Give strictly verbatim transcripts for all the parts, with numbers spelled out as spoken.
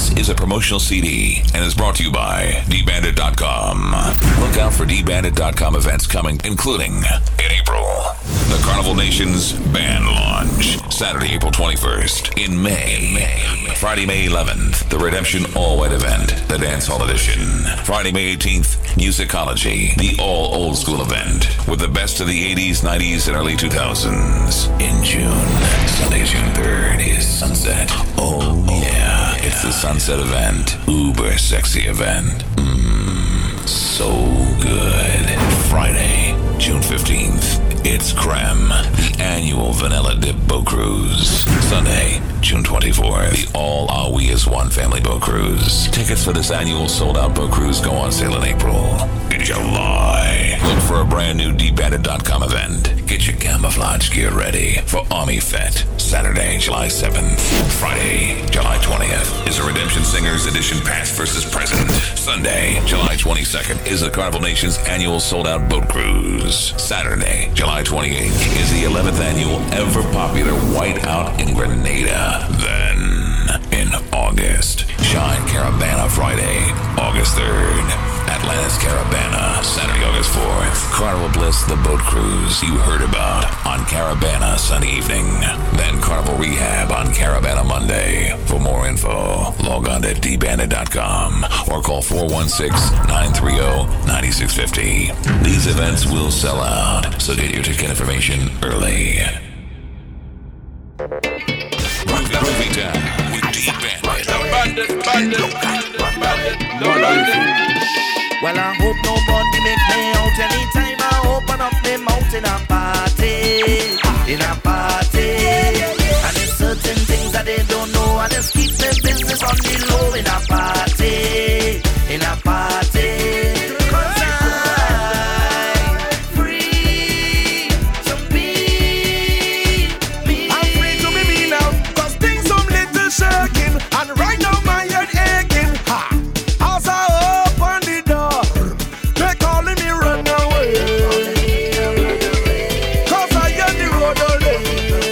This is a promotional C D and is brought to you by D Bandit dot com. Look out for D Bandit dot com events coming, including in April, the Carnival Nations Band Launch, Saturday, April twenty-first. In May, in May, Friday, May eleventh, the Redemption All-White event, the Dance Hall Edition. Friday, May eighteenth, Musicology, the all old school event with the best of the eighties, nineties, and early two thousands. In June, Sunday, June third is Sunset. Oh yeah, it's the Sunset event. Uber sexy event. Mmm, so good. Friday, June fifteenth, it's Creme, the annual Vanilla Dip Boat Cruise. Sunday, June twenty-fourth, the All Are We As One Family Boat Cruise. Tickets for this annual sold-out boat cruise go on sale in April. In July, look for a brand new D Bandit dot com event. Get your camouflage gear ready for Army Fete. Saturday, July seventh. Friday, July twentieth is a Redemption Singers Edition Past versus Present. Sunday, July twenty-second is the Carnival Nations annual sold-out boat cruise. Saturday, July twenty-eighth is the eleventh annual ever popular Whiteout in Grenada. Then, in August, Shine Caravana Friday, August third. Atlantis Caravana, Saturday, August fourth. Carnival Bliss, the boat cruise you heard about on Caravana Sunday evening. Then Carnival Rehab on Caravana Monday. For more info, log on to D Bandit dot com or call four one six, nine three zero, nine six five zero. These events will sell out, so get your ticket information early. Groovy Town with D Bandit. Bandit, bandit, bandit, bandit. Well, I hope nobody make me out anytime I open up my mouth in a party, in a party. And there's certain things that they don't know, and just keep their business on the low in a party, in a party. Cause I'm free to be me. I'm free to be me now, cause things some little shaking, and right now my head aching. Ha! As I open the door, they calling me run away, cause I am the road away.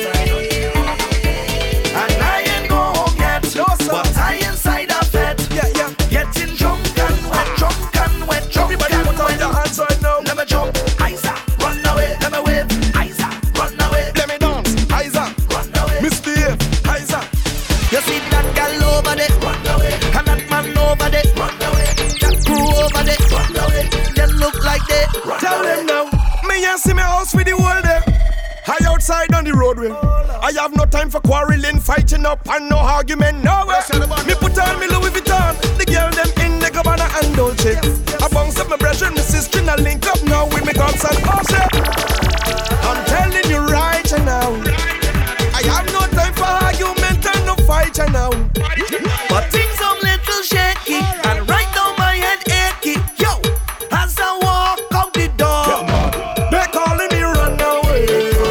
And I ain't go home yet, no, but I inside a bed. Yeah, yeah. Getting drunk and wet, drunk and wet, drunk and wet. Everybody put on your hands right now. Let me jump, Isa, run away. Let me wave, Isa, run away. Let me dance, Isa, run away. Misbehave, Isa. You see that girl over there, run away. And that man over there, run away. That crew over there, run away. They look like they run Tell away. them now, me and see me house with the world there. I outside on the roadway. I have no time for quarreling, fighting up, and no argument, no way. Me put on me Louis Vuitton, the girl them in the Gabbana and Dolce. I bounce up my brethren, my sister, and I link up now with me guns and Porsche. I'm telling you right now, I have no time for argument and no fight now. But things are little shaky, and right now my head achy. Yo, as I walk out the door, They calling me run away,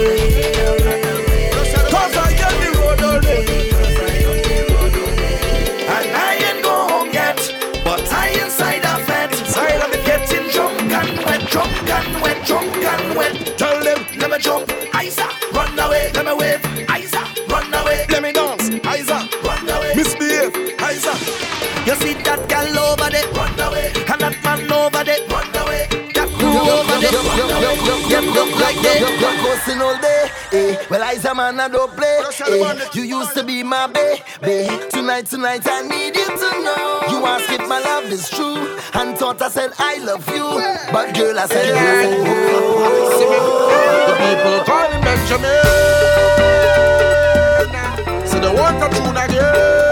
cause I am the road away. and I ain't go home yet, but I inside a bed. Inside of it. Getting drunk and wet, drunk and wet, drunk and wet. Tell them, Let me jump, Isa, run away. Let me wave, Isa, run away. let me dance, Isa, Run away. misbehave, Isa. You see that girl over there, run away. And that man over there, run away. That crew over there, run away. Them look like they You're coasting all day, eh? Well, I's a man, I don't play, eh? You used to be my baby. Tonight, tonight, I need you to know. You asked if my love is true, and thought I said I love you, but girl, I said oh. The people calling Benjamin, see the water tune again.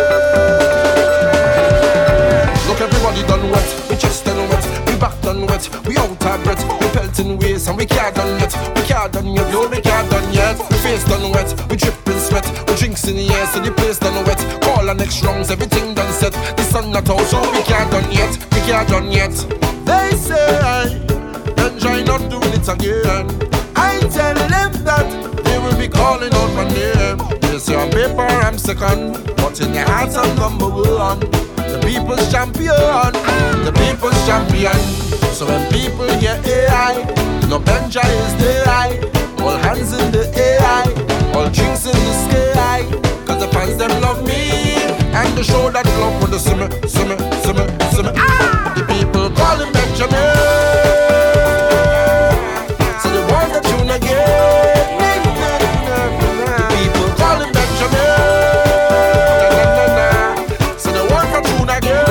Look, everybody done wet, we chest done wet, we back done wet, we out of breath, we pelting waist and we can't done yet, we can't done yet, no, we can't done yet. We face done wet, we dripping sweat, we drinks in the air, so the place done wet. Call our next rounds, everything done set. The sun not out, so we can't done yet, we can't done yet. They say, enjoy not doing it again. I tell them that they will be calling out my name. They say on paper I'm second, but in their hearts I'm number one. The people's champion, the people's champion. So when people hear A I, no Benja is the I. All hands in the A I, all drinks in the sky. Cause the fans them love me, and to show that love when they see me, see me, see me, see me. Ah! The people call him Benjamin. So they want the tune again. The people call him Benjamin. So they want the tune again.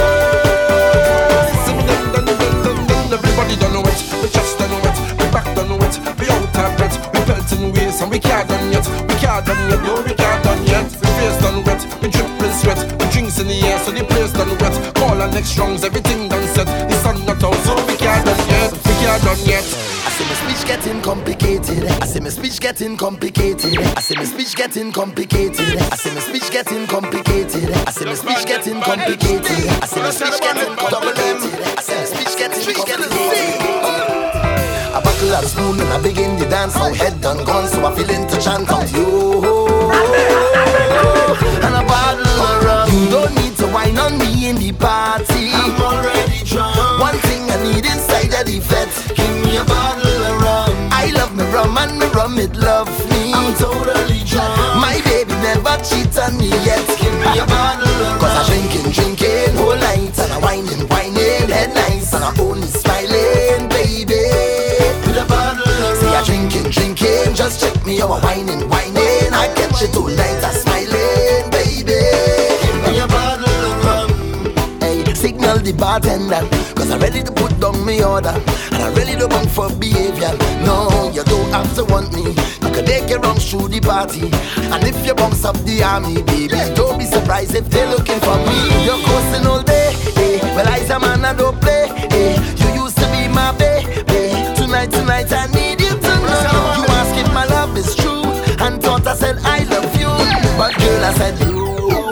Everybody don't know it, we just don't know it, we back don't know it, we out of breath, we pelting ways and we can't done yet, we can't done yet, no we can't done yet. We face done wet, we dripping sweat, we drinks in the air so the place done wet. Call our next strongs, everything done set, the sun not out so we can't done yet, we can't done yet. I see my speech getting complicated. I see my speech getting complicated. I see my speech getting complicated. I see my speech getting complicated. I see my speech getting complicated. I see my speech getting complicated. I see my speech getting complicated. A buckle of spoon and I begin the dance. Now head done gone, so I feel into chant out you. And a bottle of rum. You don't need to wine on me in the party. I'm already drunk. One thing I need inside of the vet. Give me a bottle of rum. I love me rum and me rum it love me. I'm totally drunk. My baby never cheat on me yet. Give me a bottle of rum. Cause I drinking, drinking whole night. And I whining, whining, head nice. And I only smiling, baby. With a bottle of rum. See I drinking, drinking. Just check me out, whining, whining. I catch it all night, I smiling, baby. Give me a bottle of rum. Hey, signal the bartender. Cause I'm ready to put down my order. And I'm ready to bunk for behavior. No, you don't have to want me. You can take your wrongs through the party. And if you bumps up the army, baby, don't be surprised if they're looking for me. You're coasting all day, eh? Well, I's a man, I don't play, eh? You used to be my baby. Tonight, tonight, I need you to know. You ask if my love is true. And thought I said I love you. But girl, I said you.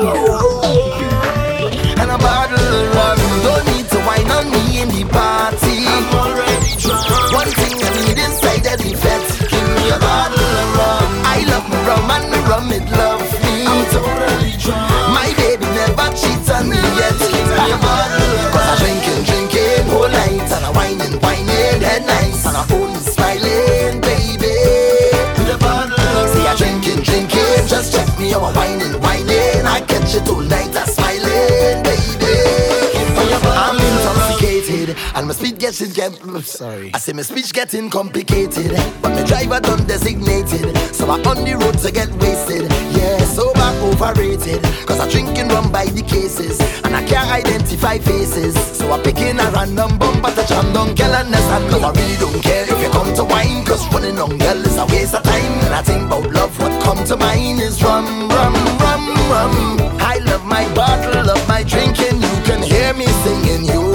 And a bottle of rum. Don't need to wine on me in the party. I'm already drunk. One thing I need inside of the vet. Give me a bottle of rum. I love me rum and me rum it love me. I'm totally drunk. My baby never cheats on me yet. Give me a bottle of rum. Cause I drinking, drinking whole night. And I whining, whining, head nice. And I only smiling, baby. With a bottle of rum. See I drinking, drinking. Just check me out, whining, whining. I catch it all night, I smiling, baby. I'm intoxicated and my speech gets it get sorry. I say my speech getting complicated, but my driver done designated, so I on the road to get wasted. Yeah, sober overrated, cause I drinking rum by the cases, and I can't identify faces. So I pick in a random bumper to jam down girl and understand. Cause I really don't care if you come to wine, cause running on girl is a waste of time. And I think about love, what come to mind is rum, rum, rum, rum. I love my bottle, love my drinking, you can hear me singing you.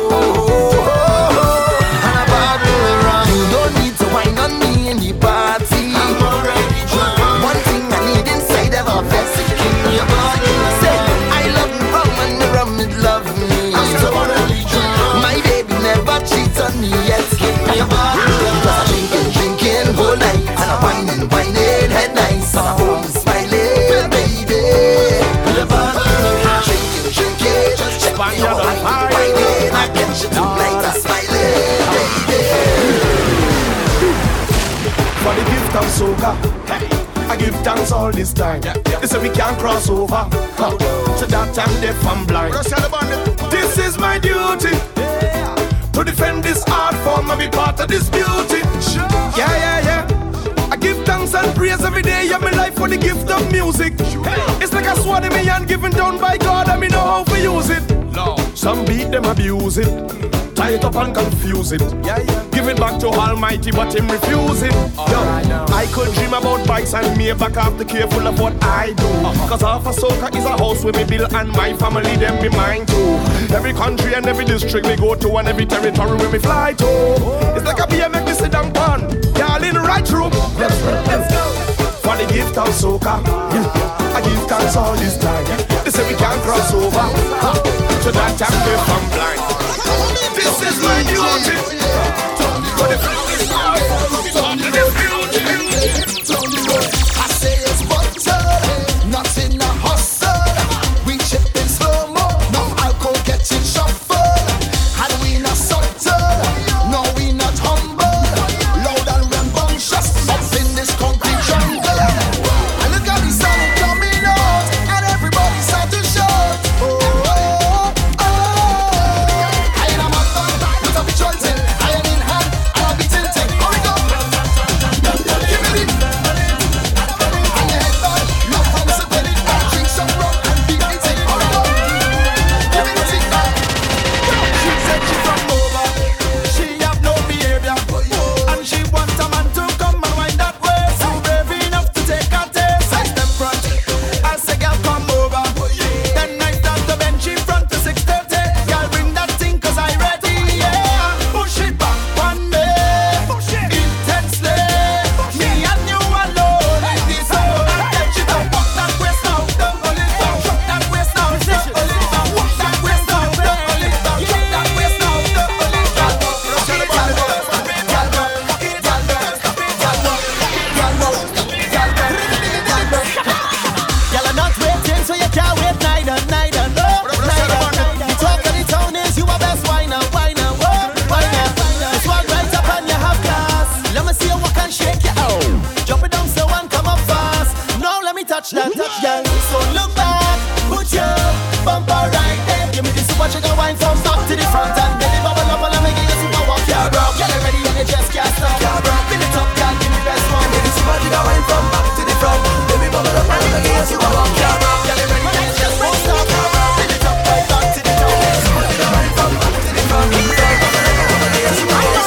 And a bottle of rum. You don't need to wine on me in the party. I'm already drunk. One thing I need inside of a vest. Give me a bottle of rum. Say, I love me rum and the rum it love me. I'm totally drunk. My baby never cheats on me yet. Give me a bottle of rum. Cause I'm drinking, drinking whole night. And I'm whining, whining, head nice. And I'm home smiling, baby. With a bottle of rum. Drinking, drinking. Just check me out, whining, whining. I get you tonight, I'm smiling, baby. For the gift of soca, I give thanks all this time. They say we can't cross over, huh. So that I'm deaf and blind. This is my duty, to defend this art form and be part of this beauty. Yeah, yeah, yeah. I give thanks and praise every day of my life for the gift of music. It's like a sword in my hand given down by God, and me know how to use it. Some beat them abuse it, tie it up and confuse it. Yeah, yeah. Give it back to Almighty, but him refuse it. Yo, I could dream about bikes and me back up the careful of what I do. Uh-huh. Cause half a soca is a house with me build and my family them be mine too. Every country and every district we go to and every territory where we fly to. Oh, it's like a B M X sit down pan. Y'all in the right room. Let's go, let's go. For the gift of soca, yeah. I give thanks all this time. They say we can't cross over, huh. So that I'm deaf and blind. This is my duty. For the I say it's butter, not in a hustle. We chip in slow mo, no alcohol getting shuffled. And we not subtle, no we not humble. Loud and rambunctious, up in this concrete jungle. And look at the sun coming out, and everybody start to shout. watch you go wine from back to the front and belly bubble up and make you super walk. Yeah, bro. Get it ready and you just can't stop. Yeah, bro. Fill it up, girl, give me best one. Baby, see what you go wine from back to the front. Baby, bubble up and make you super walk. Yeah, bro. Get it ready and you just won't stop. Yeah, bro. Fill it up, right back to the top. See what you go wine from back to the front. Baby, bubble up and make you super walk.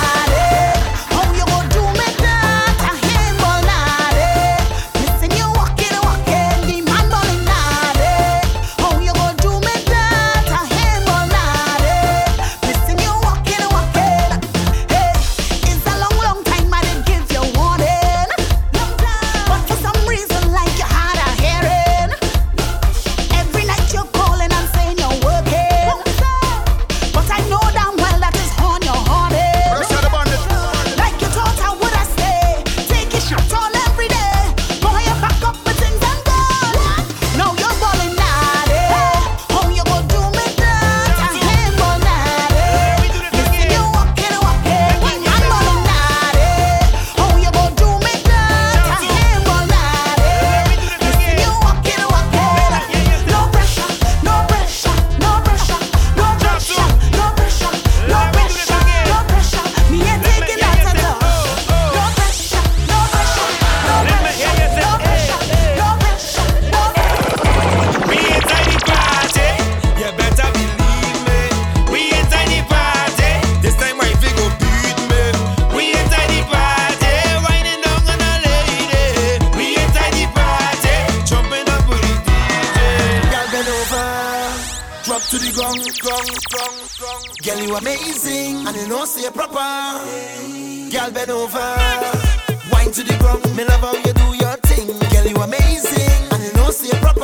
Girl, you amazing, and you know say proper. Girl, bend over, wine to the ground. Me love how you do your thing. Girl, you amazing, and you know say proper.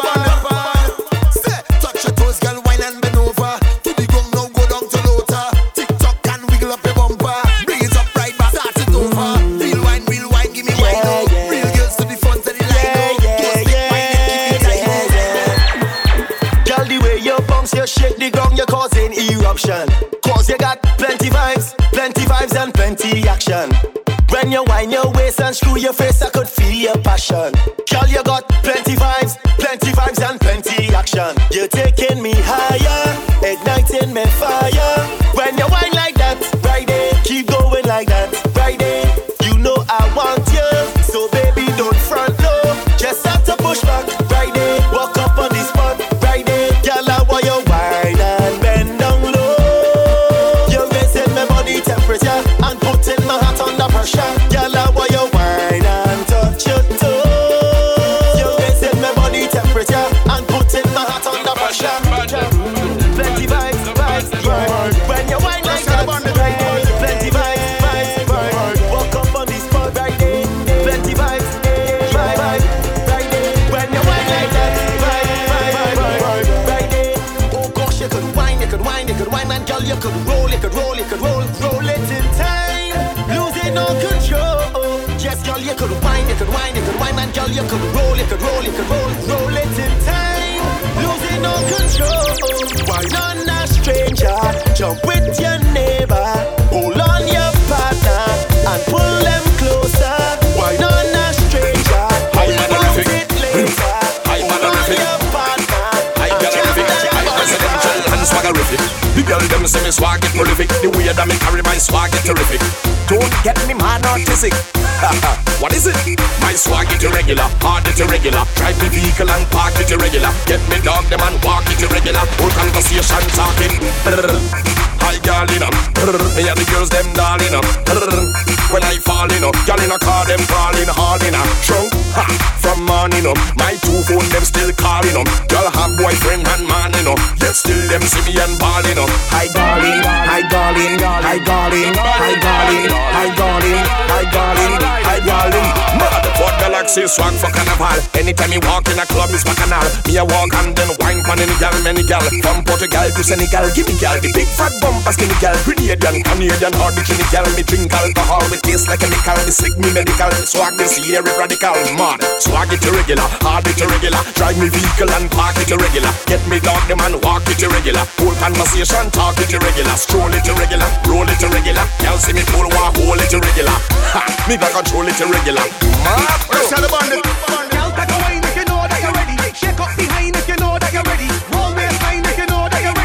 Say, touch your toes, girl, wine and bend over. To the ground now, go down to lower. Tick tock and wiggle up your bumper. Bring it up right back, start it over. Real wine, real wine, give me wine now. Real girls to the front of the line now. Don't stick wine, give me time. Girl, the way you bounce, you shake the ground, you're causing eruption. Cause you got plenty vibes, plenty vibes and plenty action. When you wind your waist and screw your face, I could feel your passion. Girl, you got plenty vibes, plenty vibes and plenty action. You're taking me higher, igniting me fire. When you wind like that, right there, keep going like that, right there. You know I want you, so baby don't front low. Just have to push back, right there. Walk up on the spot, right there. Girl, I want you wine and bend down low. You're raising my body temperature and putting my heart under pressure. Girl, I want you wine and touch your toes. You're raising my body temperature and putting my heart under pressure. Plenty vibes, vibes, vibes. When you wine like that, right there. Plenty vibes, vibes, vibes. Walk up on the spot, right there. Plenty vibes, vibes, vibes, right there. When you wine like that, vibes, vibes, vibes, right there. Oh gosh, you could wine, you could wine, you could wine, man, girl, you could roll, you could roll, you could roll, roll it in time, losing all control. Yes, girl, you could wine, you could wine, you could wine, man, girl, you could roll, you could roll, you could roll, roll it in time, losing all control. Wine on a stranger, jump with your neighbor, hold on your partner and pull them closer. Wine on a stranger, hold it later, hold on your partner and jump them swaggerific. The girl them say me swag it prolific. The way that me carry my swag it terrific. Don't get me mad autistic. What is it? My swag it irregular, hard it irregular. Drive me vehicle and park it irregular. Get me dog them and walk it irregular. Whole conversation talking. Hi girl in up, me and the girls them darling up. When I fall in up, girl in a car them crawling hard in a trunk. Ha, from morning up, my two phone them still calling up. Girl have boyfriend and man in up, yet still them see me and balling up. Hi darling, hi darling, hi darling, hi darling, hi darling, hi darling, hi darling. Mother for galaxy swag for carnival. Anytime you walk in a club is bacchanal. Me a walk and then wine pan any gal, many gal. From Portugal to Senegal, give me gal the big fat bumper skinny gal. Grenadian, Canadian, or the Trini gal. Me drink alcohol, me taste like a nickel. Me sick, me medical. Swag this year is radical. Mad, swag it irregular, hard it irregular. Drive me vehicle and park it irregular. Get me dog them and walk it irregular. Whole conversation talk it irregular. Stroll it irregular, roll it irregular. Y'all see me pull one, hold it irregular. Ha, me got control it irregular. Mad, let's tell about it. Y'all back away if you know that you're ready. Shake up behind if you know that you're ready. Roll waistline if you know that you're ready.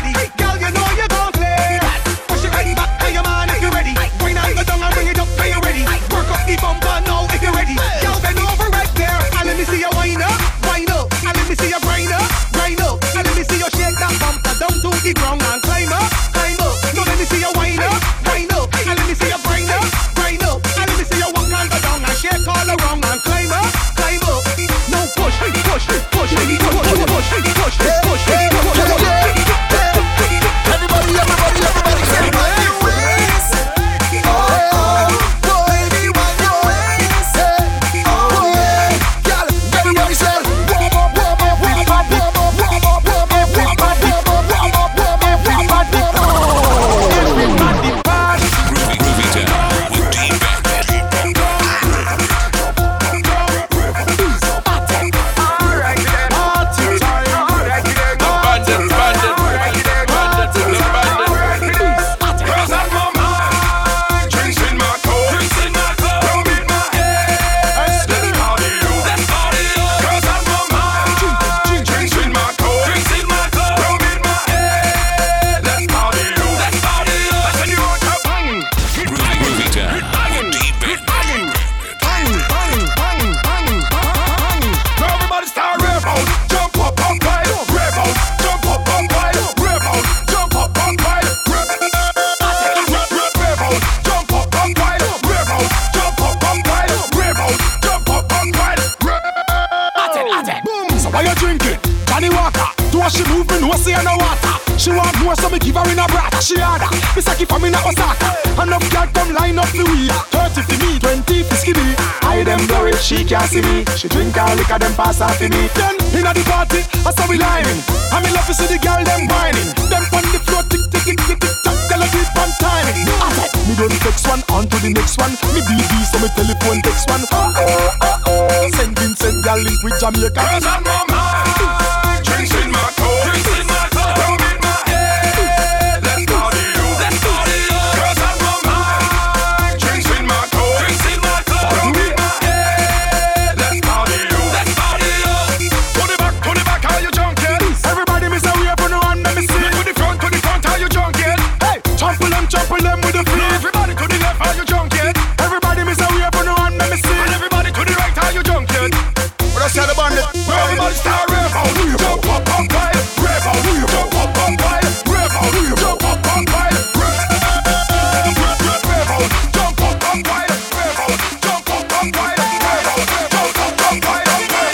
water. She want more, so me give her in a brat. She harder, it's like if I'm in a Osaka. Enough girl come line up the weed. Thirty for me, twenty for skibby. I them blurry, she can't see me. She drink her liquor, them pass off to me. Then inna the party, I saw we lining. I me love to see the girl them whining. Them on the floor, tick tick tick tick tick tock. Tell her keep on timing. I said, me do the next one, on to the next one. Me B B, so me telephone text one. Oh oh oh oh. Send Vincent, girl link with Jamaica. Girls on my mind, drinks in my coat, drinks in my coat. Rum in my head, let's party you, let's party you. Girls on my mind, drinks in my coat, drinks in my coat. Rum in my head, let's party you, let's party you. To the back, to the back, are you drunk yet? Everybody miss a way up on the one, let me see. To the front, to the front, are you drunk yet? Hey, trample them, trample them with the flow. Everybody to the left, are you drunk yet? Everybody miss a way up on the one, let me see. And everybody to the right, are you drunk yet? Let's tell the bandit. Everybody start rave out. Jump up on fire. Rave out. Jump up on fire. Rave out. Jump up on fire. Rave out. Jump up on fire. Rave out. Jump up on fire. Rave out. Jump up on fire.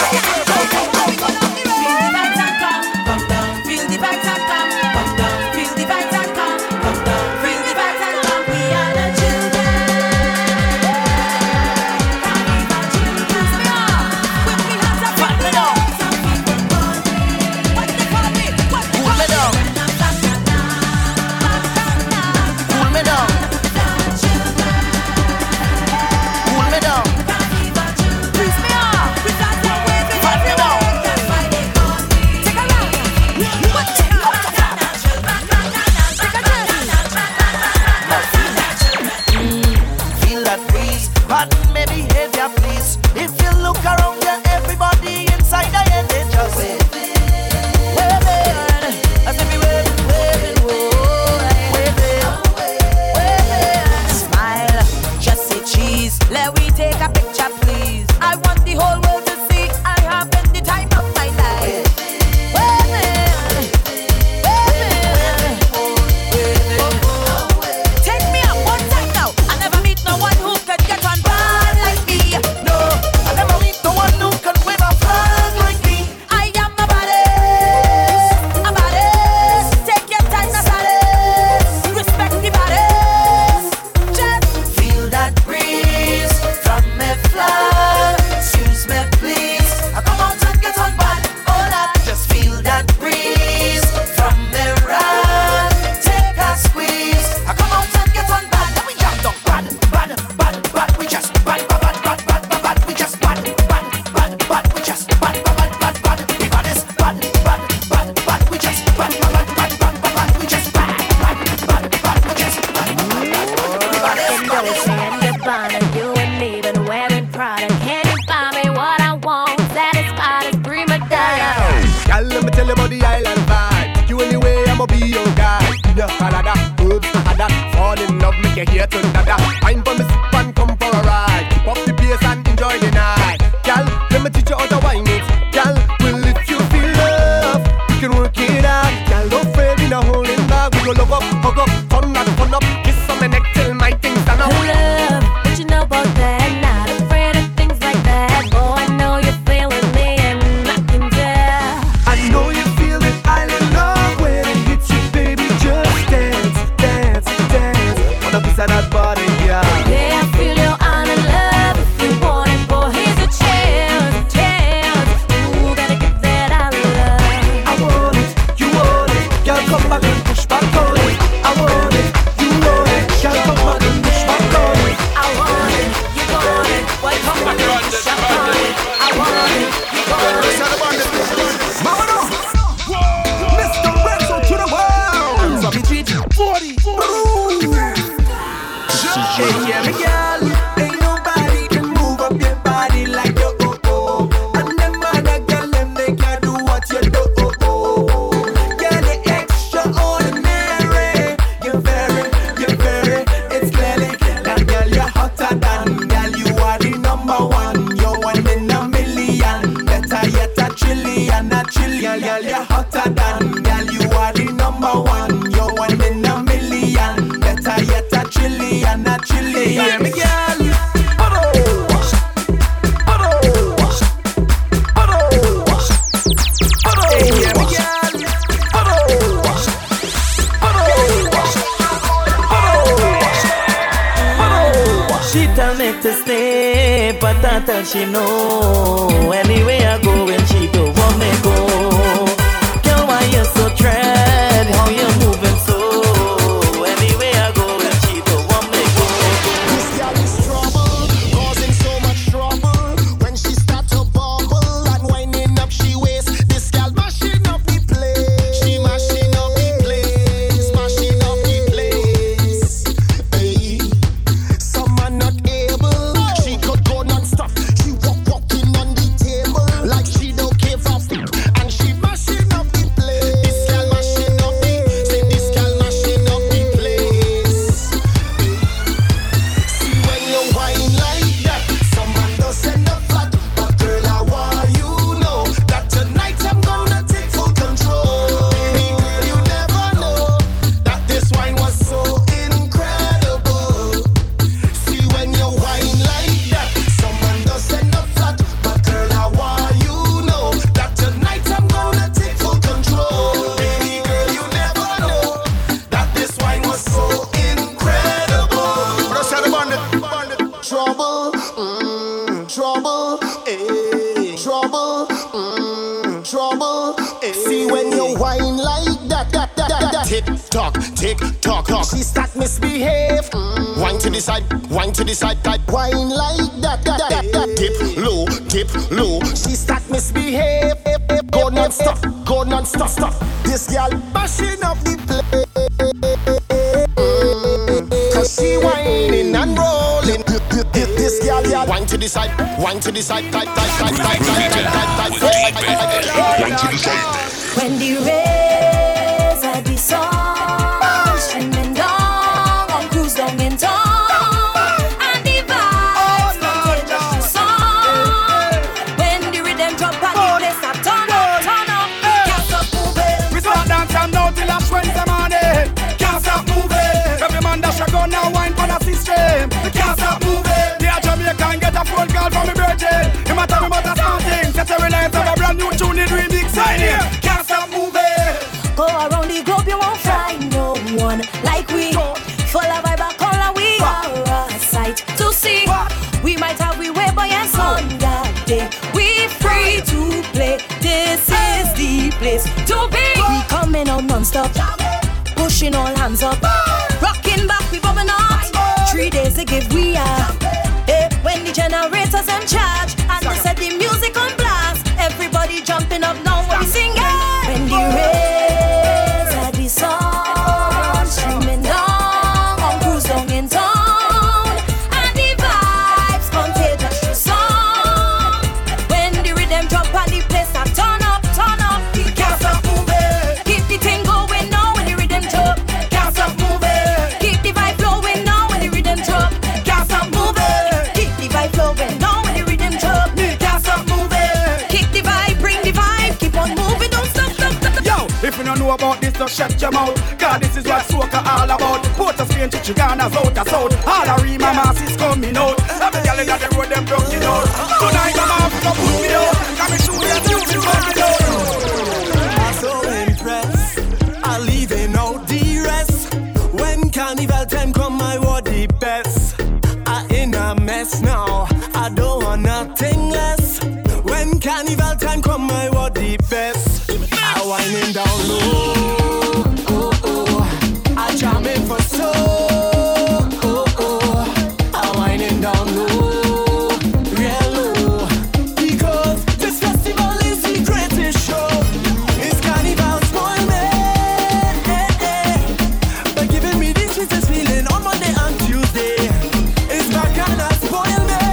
Feel the vibes and come. Come down. Feel the vibes and come. Come down. Feel the vibes and come. We are the children. Come back and push back on it. I want it, you tell me to stay, but I tell she no. Anyway I go when she don't want me go. Girl, why you so tread? How you moving so? Anyway I go when she don't want me go. This girl is trouble, causing so much trouble. When she start to bubble and winding up she waist. This girl mashing up the place. She mashing up the place, mashing up the place. Hey, some are not able. She could go non-stop. She walk walking on the table like she don't give a fuck. And she mashing up the place. This girl mashing up the, say this girl mashing up the place. See when you whine like that, someone does send a flat. But girl, I want you know that tonight I'm gonna take full control. Baby girl, you never know that this wine was so incredible. See when you whine like that, someone does send a flat. But girl, I want you know that tonight I'm gonna take full control. Baby girl, you never know that this wine was so incredible. Trouble, mm, trouble, eh, trouble, mm, trouble, eh. See when you whine like that, that, that, that, that. Tick tock, tick tock, tock. She start misbehave. Mm. Wine to the side, wine to the side, type. Whine like that, that, that, that. Dip low, dip low. She start misbehave. Go non-stop, go non-stop, stop. This girl bashing up the place. Cause she whining and rolling. This girl, girl, wine to the side, wine to the side, type, type, type, type, type, type, type, type, type, wine to the side. When the rays of the sun streaming down on cruise down in town, and the vibes contagious to song. When the rhythm drop and the place start turn up, turn up, can't stop moving. We start dancing now till it's Wednesday morning. Can't stop moving. Every man dash a gun now wine for the system. We can't stop moving. The Jamaican get a phone call from me virgin. Him a tell me about a starting. Set a reliance of a brand new tune in remix. Sign here. Can't stop moving. Go around the globe, you won't find no one like we. Full of vibe and color, we are a sight to see. We might have we way, but yes, on that day we free to play. This is the place to be. We coming out non-stop, pushing all hands up, rocking back, we bubbling up. Three days they give we are. Eh, when the generators in charge and they set the music on blast, everybody jumping up now when we sing it. When the rays of the sun streaming down on cruise down in town, and the vibes contagious to song. When the rhythm drop and the place start turn up, turn up, we can't stop moving. Keep the thing going now when the rhythm drop. Can't stop moving. Keep the vibe flowing now when the rhythm drop. Can't stop moving. Keep the vibe flowing now when the rhythm drop. Can't stop moving. Kick the vibe, bring the vibe, keep on moving, don't stop, stop, stop. Yo, if you don't know about this, just shut your mouth. God, this is what soca all about. Port of Spain to Chicana's out of south. All the Rima masses coming out. Every girl in the road, them broken out. Tonight I'm off to put me out. Come and show you the music coming out. I'm so impressed, I'm leaving out the rest. When carnival time come, I want the best. I in a mess now, I don't want nothing less. When carnival time come, I want the best. I winding down low, oh, oh. I jamming for so, oh, oh. I winding down low, real low. Because this festival is the greatest show. It's carnival spoil me, by giving me this sweetest feeling on Monday and Tuesday. It's bacana spoil me,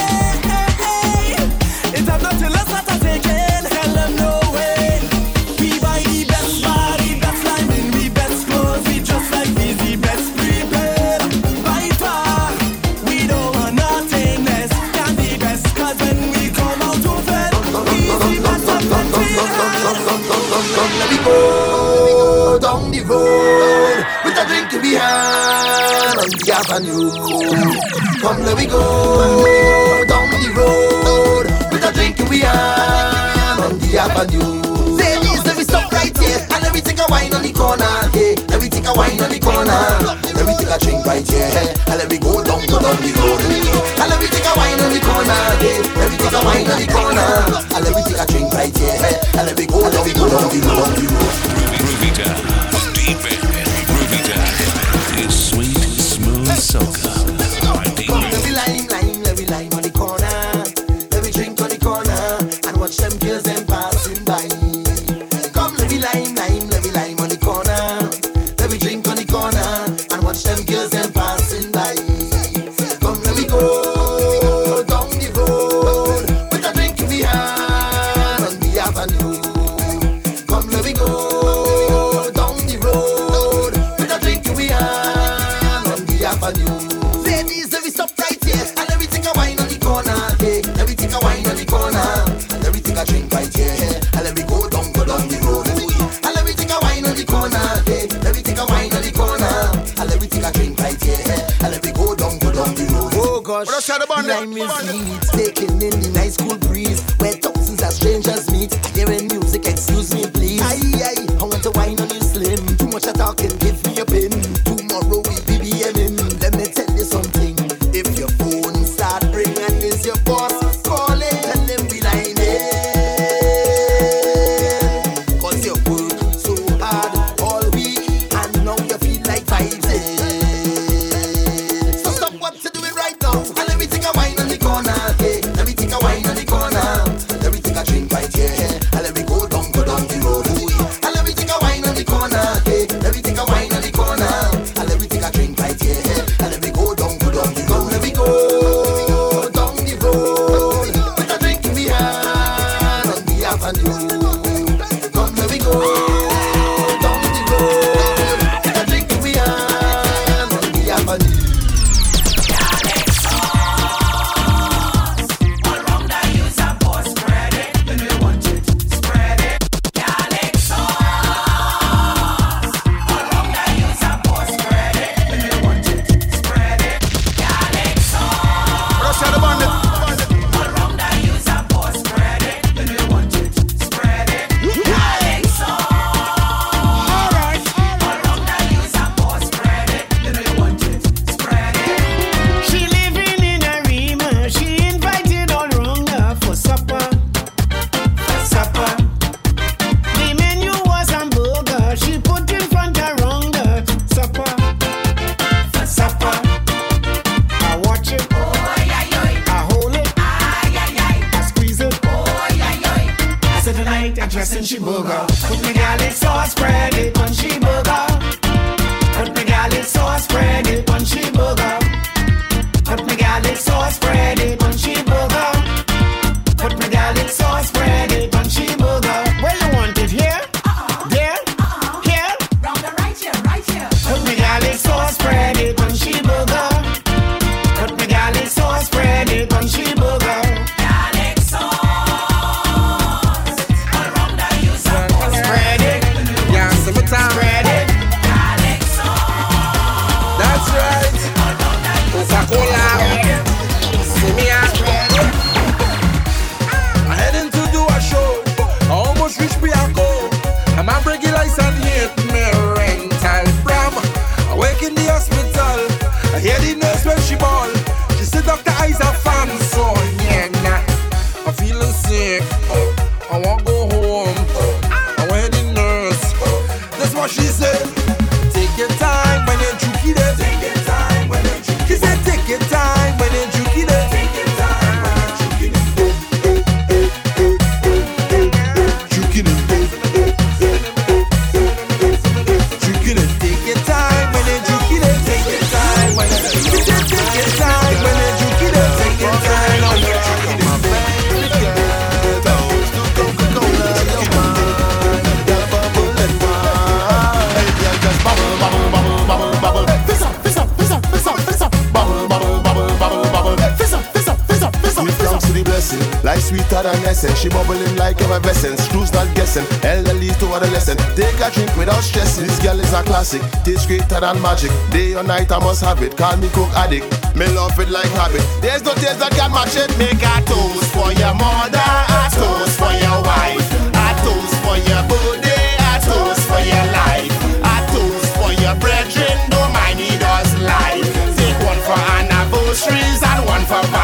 it's time not to let that take it. Tell them no way. We buy the best body, best lining, we best clothes, we just like these, the best prepared. By far, we don't want nothing less than the best. Cause when we come out to fed, we the best of the Let me go down the road with a drink in my hand on the avenue. Come, let me go down the road with a drink in my hand on the avenue. Ladies, let me stop right here and let me take a wine on the corner. Hey, let me take a wine on the corner. Let me take a drink right here and let me go down, go down the road. And let me take a wine on the corner, yeah. Let me take a wine on the corner. And let me take a drink right here, and let me go, let me go down the road, down the road. Groovy Town, deep in Groovy Town is sweet, smooth soca. Come, let me lime, lime, let me lime on the corner. Let me drink on the corner and watch them girls them passing by. Come, let me lime, lime, let me lime on the corner. Let me drink on the corner and watch them girls them passing by. Come, let me go down the road with a drink in the hand on the avenue. Come, let me go down the road with a drink in the hand on the avenue. Ladies, let me stop right here and let me take a wine on the corner. Hey, let me take a wine on the corner. And let me take a drink right here and let me go down, go down the road. And let me take a wine on the corner. Hey, let me take a wine on the corner. And let me take a drink right here and let me go down, go down the road. Oh gosh, the lime is sweet, taking in the nice cool breeze where thousands of strangers meet. Hearing music, excuse me please. Aye, aye, I want to wine on you slim. Too much of talking, give me a pin. Tomorrow we B B M in. Let me tell you something. If your phone start ringing, is your boss calling? Tell them we line in. Cause you work so hard all week and now you feel like vibes in. So stop what you're doing right now and let me take a wine on the corner. Hey, let me take a wine on the corner. Let me take a drink right here and let me go down, go down the road. And let me take a wine on the corner. Hey, let me take a wine on the corner. And let me take a drink right here and let me go down, go down the road. Let me go down the road with a drink in the hand on the avenue. Come, let me go down the road with a drink in the hand on the avenue. She living in a Rima. She invited all round her for supper. For supper. The menu was hamburger. She put in front her round her. Supper. For supper. I watch it. I hold it. I squeeze it. I said tonight I dress in she burger. Put me garlic sauce, spread it on she burger. Put me garlic sauce, spread it on she burger. Put me garlic sauce, spread it on she burger. Put me garlic sauce, spread it on she burger. Where you want it? Here? There? Here? Put me garlic sauce, spread it on she burger. Put me garlic sauce, spread it on she burger. Spread it, Yeah, summertime. spread it. That's right. Coca-Cola. See me out. I heading to do a show. I almost reached Bianco. I'm a breaking license hit me rental from. I wake in the hospital. I hear the nurse when she ball. She said Doctor Eyes a fan, so yeah, nah. I'm feeling sick. I want go home. I went the nurse. That's what she said. Take your time when you're juking it. Take your time when you're juking it. She said take your time when you're juking it. Take your time when you're juking it. Juking it. Juking it. Take your time when you're juking it. Take your time when you're juking it. She said take your time when you're juking it. Take your time when you're juking it. Life sweeter than essence. She bubbling like effervescence. Screws not guessing. Elderly to adolescent. Take a drink without stressing. This girl is a classic. Tastes greater than magic. Day or night I must have it. Call me cook addict. Me love it like habit. There's no taste that can match it. Make a toast for your mother. A toast for your wife. A toast for your birthday. A toast for your life. A toast for your brethren. Don't mind it us life. Take one for anniversaries and one for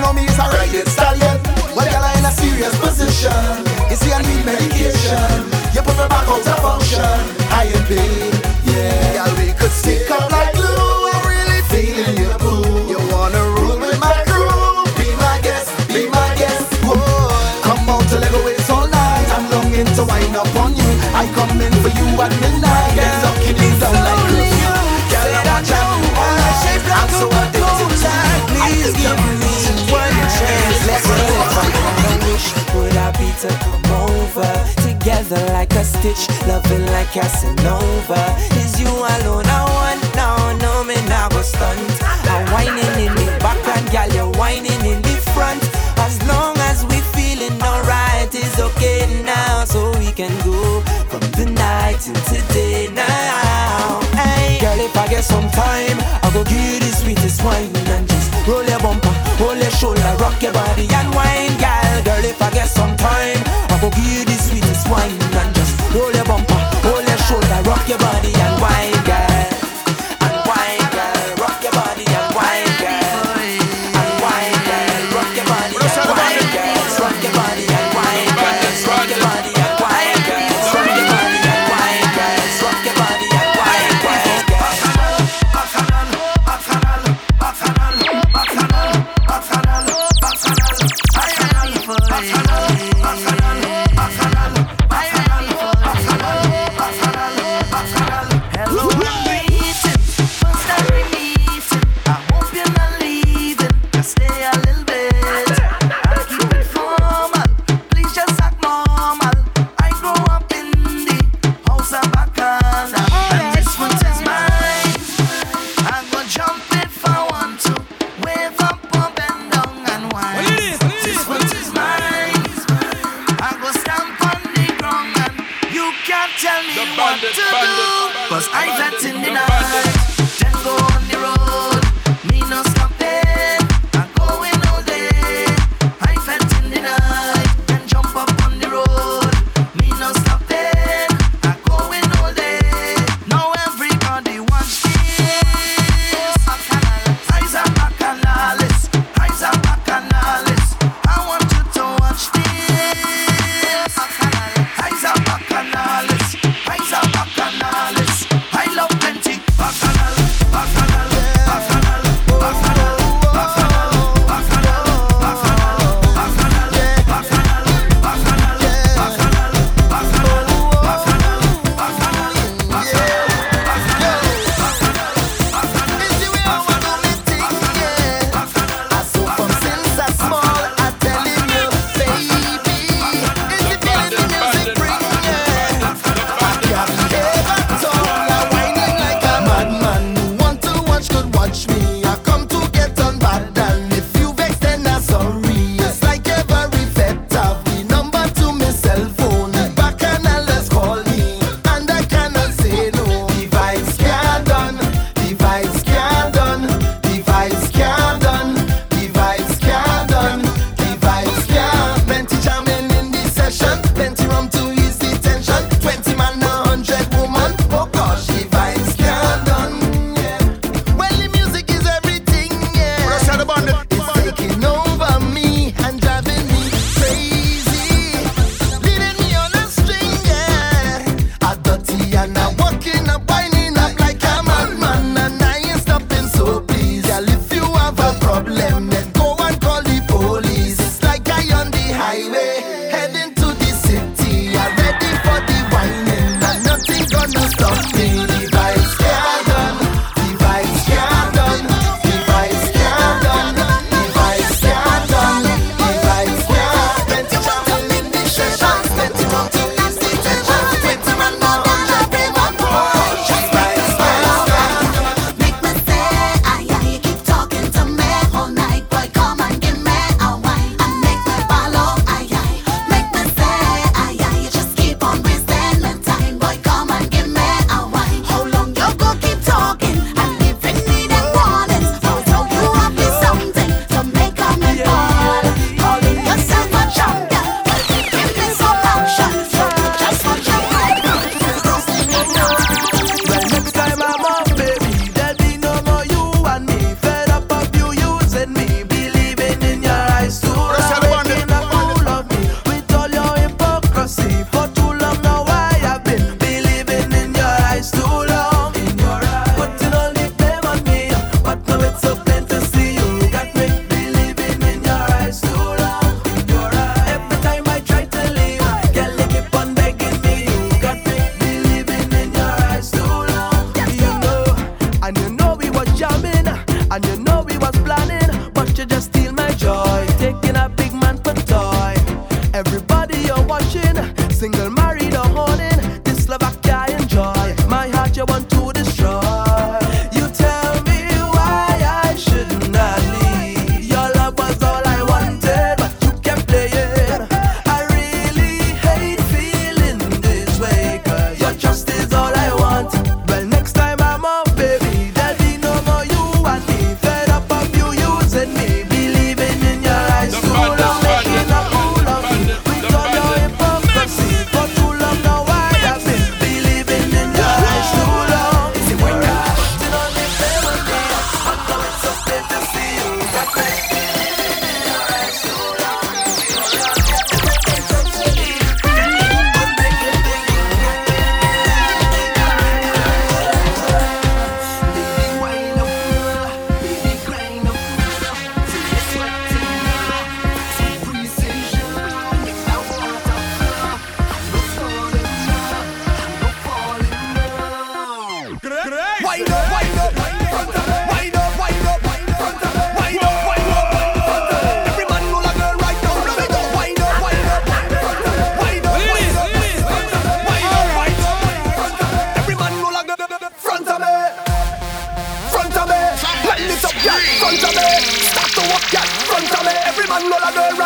know me is a riding stallion. Well, girl, I'm in a serious position. You see, I need medication. You put me back out of function. I am pain, yeah. Girl, we could stick up like glue. I'm really feeling you, boo. You wanna rule with my crew? Be my guest, be my guest. Whoa, come out to Lego ways all night. I'm longing to wind up on you. I come in for you at midnight. Get up, keep me down like glue. Girl, I want you all night. I'm so addicted to you. Please give me one chance. Let's go. I wish would I be to come over together like a stitch, loving like Casanova. Is you alone I want now? No me now go stunt. I'm whining in the background, girl, you're whining in the front. As long as we feeling alright, it's okay now, so we can go from the night into day now. Hey, girl, if I get some time, I'll go give you the sweetest wine and just roll your bumper, hold your shoulder, rock your body and wine, girl. Girl, if I get some time, I'll go give you the sweetest wine and just roll your bumper, hold your shoulder, rock your body and wine, girl. And wine, girl, rock your body and wine, girl. And wine, girl, rock your body and wine, girl. Rock your body and wine, girl. Rock your body and wine, girl. Rock your body and wine, girl. Rock your body and wine, girl. Bacchanal, bacchanal, bacchanal, bacchanal, bacchanal, bacchanal, bacchanal for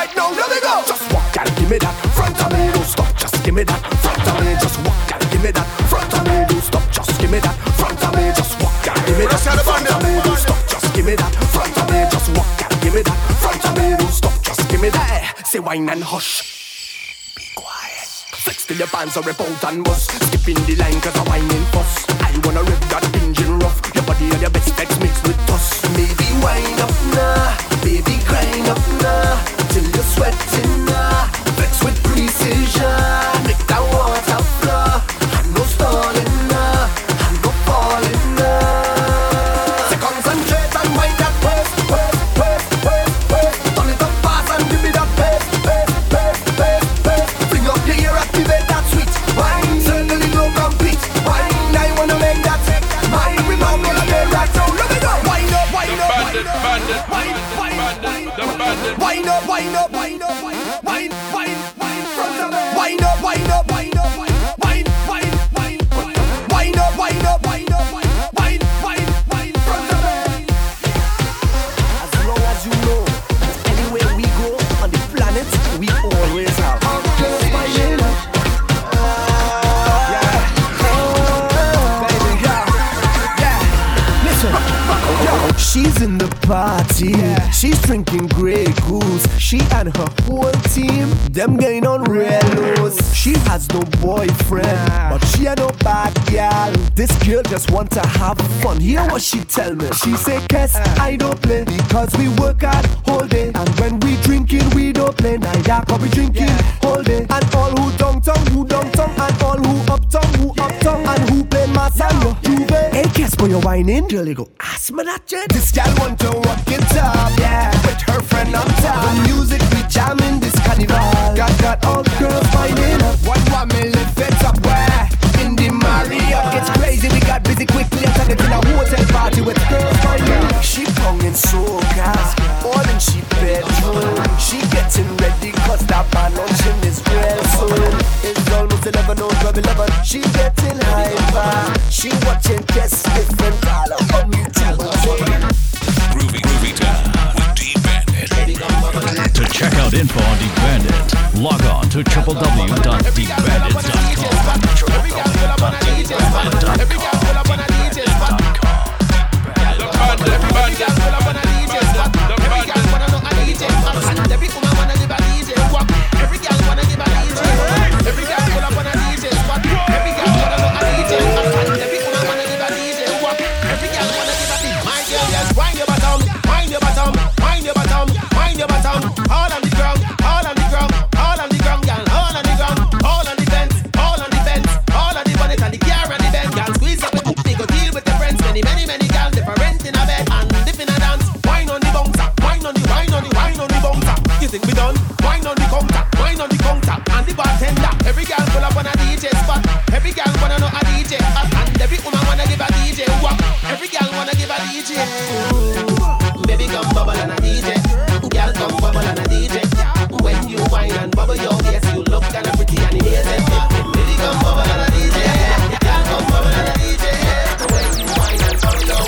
right now, let me go. Just walk and give me that front of me, don't stop. Just give me that front of me. Just walk and give me that front of me, don't stop. Just give me that front of me. Just walk and give me that front of me, don't stop. Just give me that front of me. Just walk and give me that front of me, don't stop. Just give me that. Say wine and hush. Be quiet. Flex till your pants are rip out and bust. Skipping the line cause I'm whining fuss. I wanna rip that engine rough. Your body and your best text mixed with dust. Maybe wind up now, baby grind up now, till you're sweating now. Flex with precision, make that water flow. And no stalling now, and no falling now. So concentrate and wind that pace, pace, pace, pace, pace. Turn it up fast and give me that pace, pace, pace, pace, pace. Bring up your ear, activate that switch. Wine, certainly no complete. Wine, I wanna make that take. Mine, we know me again right now. Let me go. Wind up, wind up, wind up, wind, wind, wind, wind up, wind up, wind up, wind, wind, wind, from the bed. Wind up, wind up, wind up, wind, wind, wind, wind up, wind up, wind up, wind, wind, wind, from the bed. As long as you know, anywhere we go on the planet, we always have. She's in the party, yeah. She's drinking Grey Goose. She and her whole team, them getting on real lows. She has no boyfriend, yeah. But she ain't no bad gal. This girl just want to have fun. Hear what she tell me. She say, Kes, uh. I don't play because we work hard whole day. And when we drinking, we don't play. Neither can we drinking yeah. whole day. And all who downtown, who downtown, and all who uptown, who uptown, and who play Masano, you play. Hey, Kes, for your whining, girl, you go ask me that jet. This gal want to walk it up, yeah, with her friend on top. The music we jamming this carnival. Got got all girls finding up. One one me lift it up where in the Marriott. It's crazy, we got busy quickly and turned it in a hotel party with girls finding up. She bonging soca, all in she bedroom. She getting ready cause that man luncheon is real soon. It's almost eleven oh twelve eleven. She getting hyper. She watching Kes different all on YouTube. Groovy, groovy time with D-Bandit. To check out info on D-Bandit, log on to w w w dot d bandit dot com. w w w dot d bandit dot all on the ground, all on the ground, all on the ground, girl, all on the ground, all on the fence, all on the fence, all on the bonnet and the car and the bend, girl, squeeze up with the they go deal with the friends, many, many, many girls different in a bed and dip in a dance, wine on the bouncer, wine on the, wine on the, wine on the bouncer. You think we done? Wine on the counter, wine on the counter, and the bartender. Every girl pull up on a D J spot, every girl wanna know a D J, and every woman wanna give a D J walk, every girl wanna give a D J. Ooh, baby come bubble and a D J. Girl, come bubble and a D J. When you whine and bubble your face, you look kind of pretty and amazing. Baby, come bubble and a D J. Girl, come bubble and a D J. When you whine and bubble your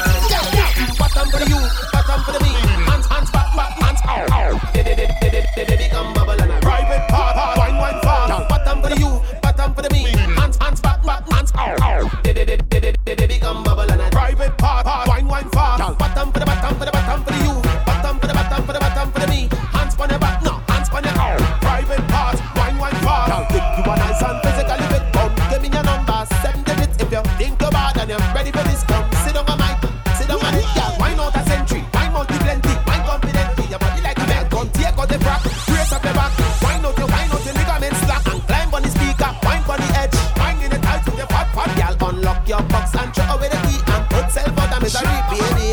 face, bottom for the you, bottom for the me. Hands, hands, back, back, hands out. Baby, come bubble and a private part, wine, wine, fast. Bottom for the you, bottom for the me. Hands, hands, back, back, hands out. Baby, come bubble and a private part, wine, wine, fast. Bottom for the bottom for the bottom for the you. For the bottom for the me, hands on your back, no, hands on your arm. Private part, wine, wine, far. Now think you are nice and physically fit. Come, give me your number, seven digits. If you think you're bad and you're ready for this, come sit on my mic, sit on my dick, girl. Wine out a century, wine multi plenty, wine confidently. Your body like a bed, come take out the frack, brace up your back. Wine out your, wine out your ligaments slack and climb on the speaker, wine on the edge, wine in the tight with your fat, fat girl. Unlock your box and throw away the key and put self out of misery, baby.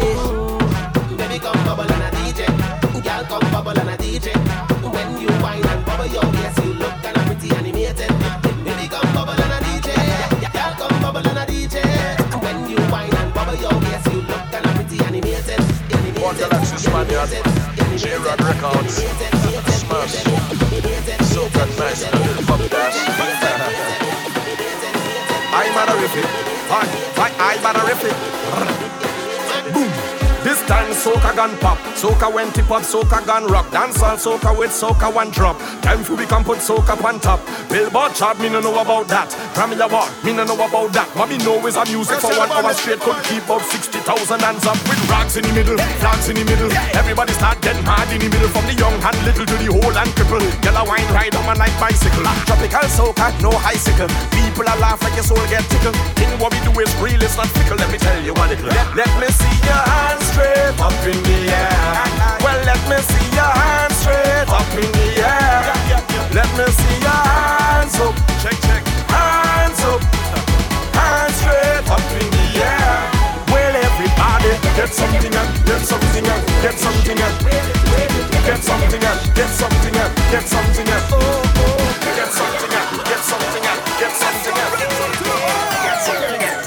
Baby, come bubble and a D J. Girl, come bubble and a D J. When you whine and bubble your yes, you look kinda pretty animated. Baby, come bubble and a D J. Girl, come bubble and a D J. When you whine and bubble your yes, you look kinda pretty animated. One Galaxy Spaniard, J-Rod Records, Smash, so good, nice, fuck that. I'm on a riff it, I'm on a riff it. Boom. This time soca gun pop. Soca when tip up, soca gun rock. Dance all soca with soca one drop. Time for we can put soca on top. Billboard chart, me no know about that. Grammy award, me no know about that. What me know is a music for one hour straight could keep up sixty thousand hands up with rags in the middle, flags in the middle. Everybody start getting mad in the middle, from the young and little to the old and cripple. Yellow wine ride on my night bicycle. Tropical soca, no icicle. People are laugh like your soul get tickled. Thing what we do is real, it's not fickle. Let me tell you what it is. Let, let me see your hands straight up in the air. Well, let me see your hands straight up in the air. Let me see your hands up. Check, check. Hands up. Hands straight up in the air. Well, everybody get something up, get something up, get something up. Get something up, get something up, get something up. Get something up, get something up, get something up. Get something up, get something up.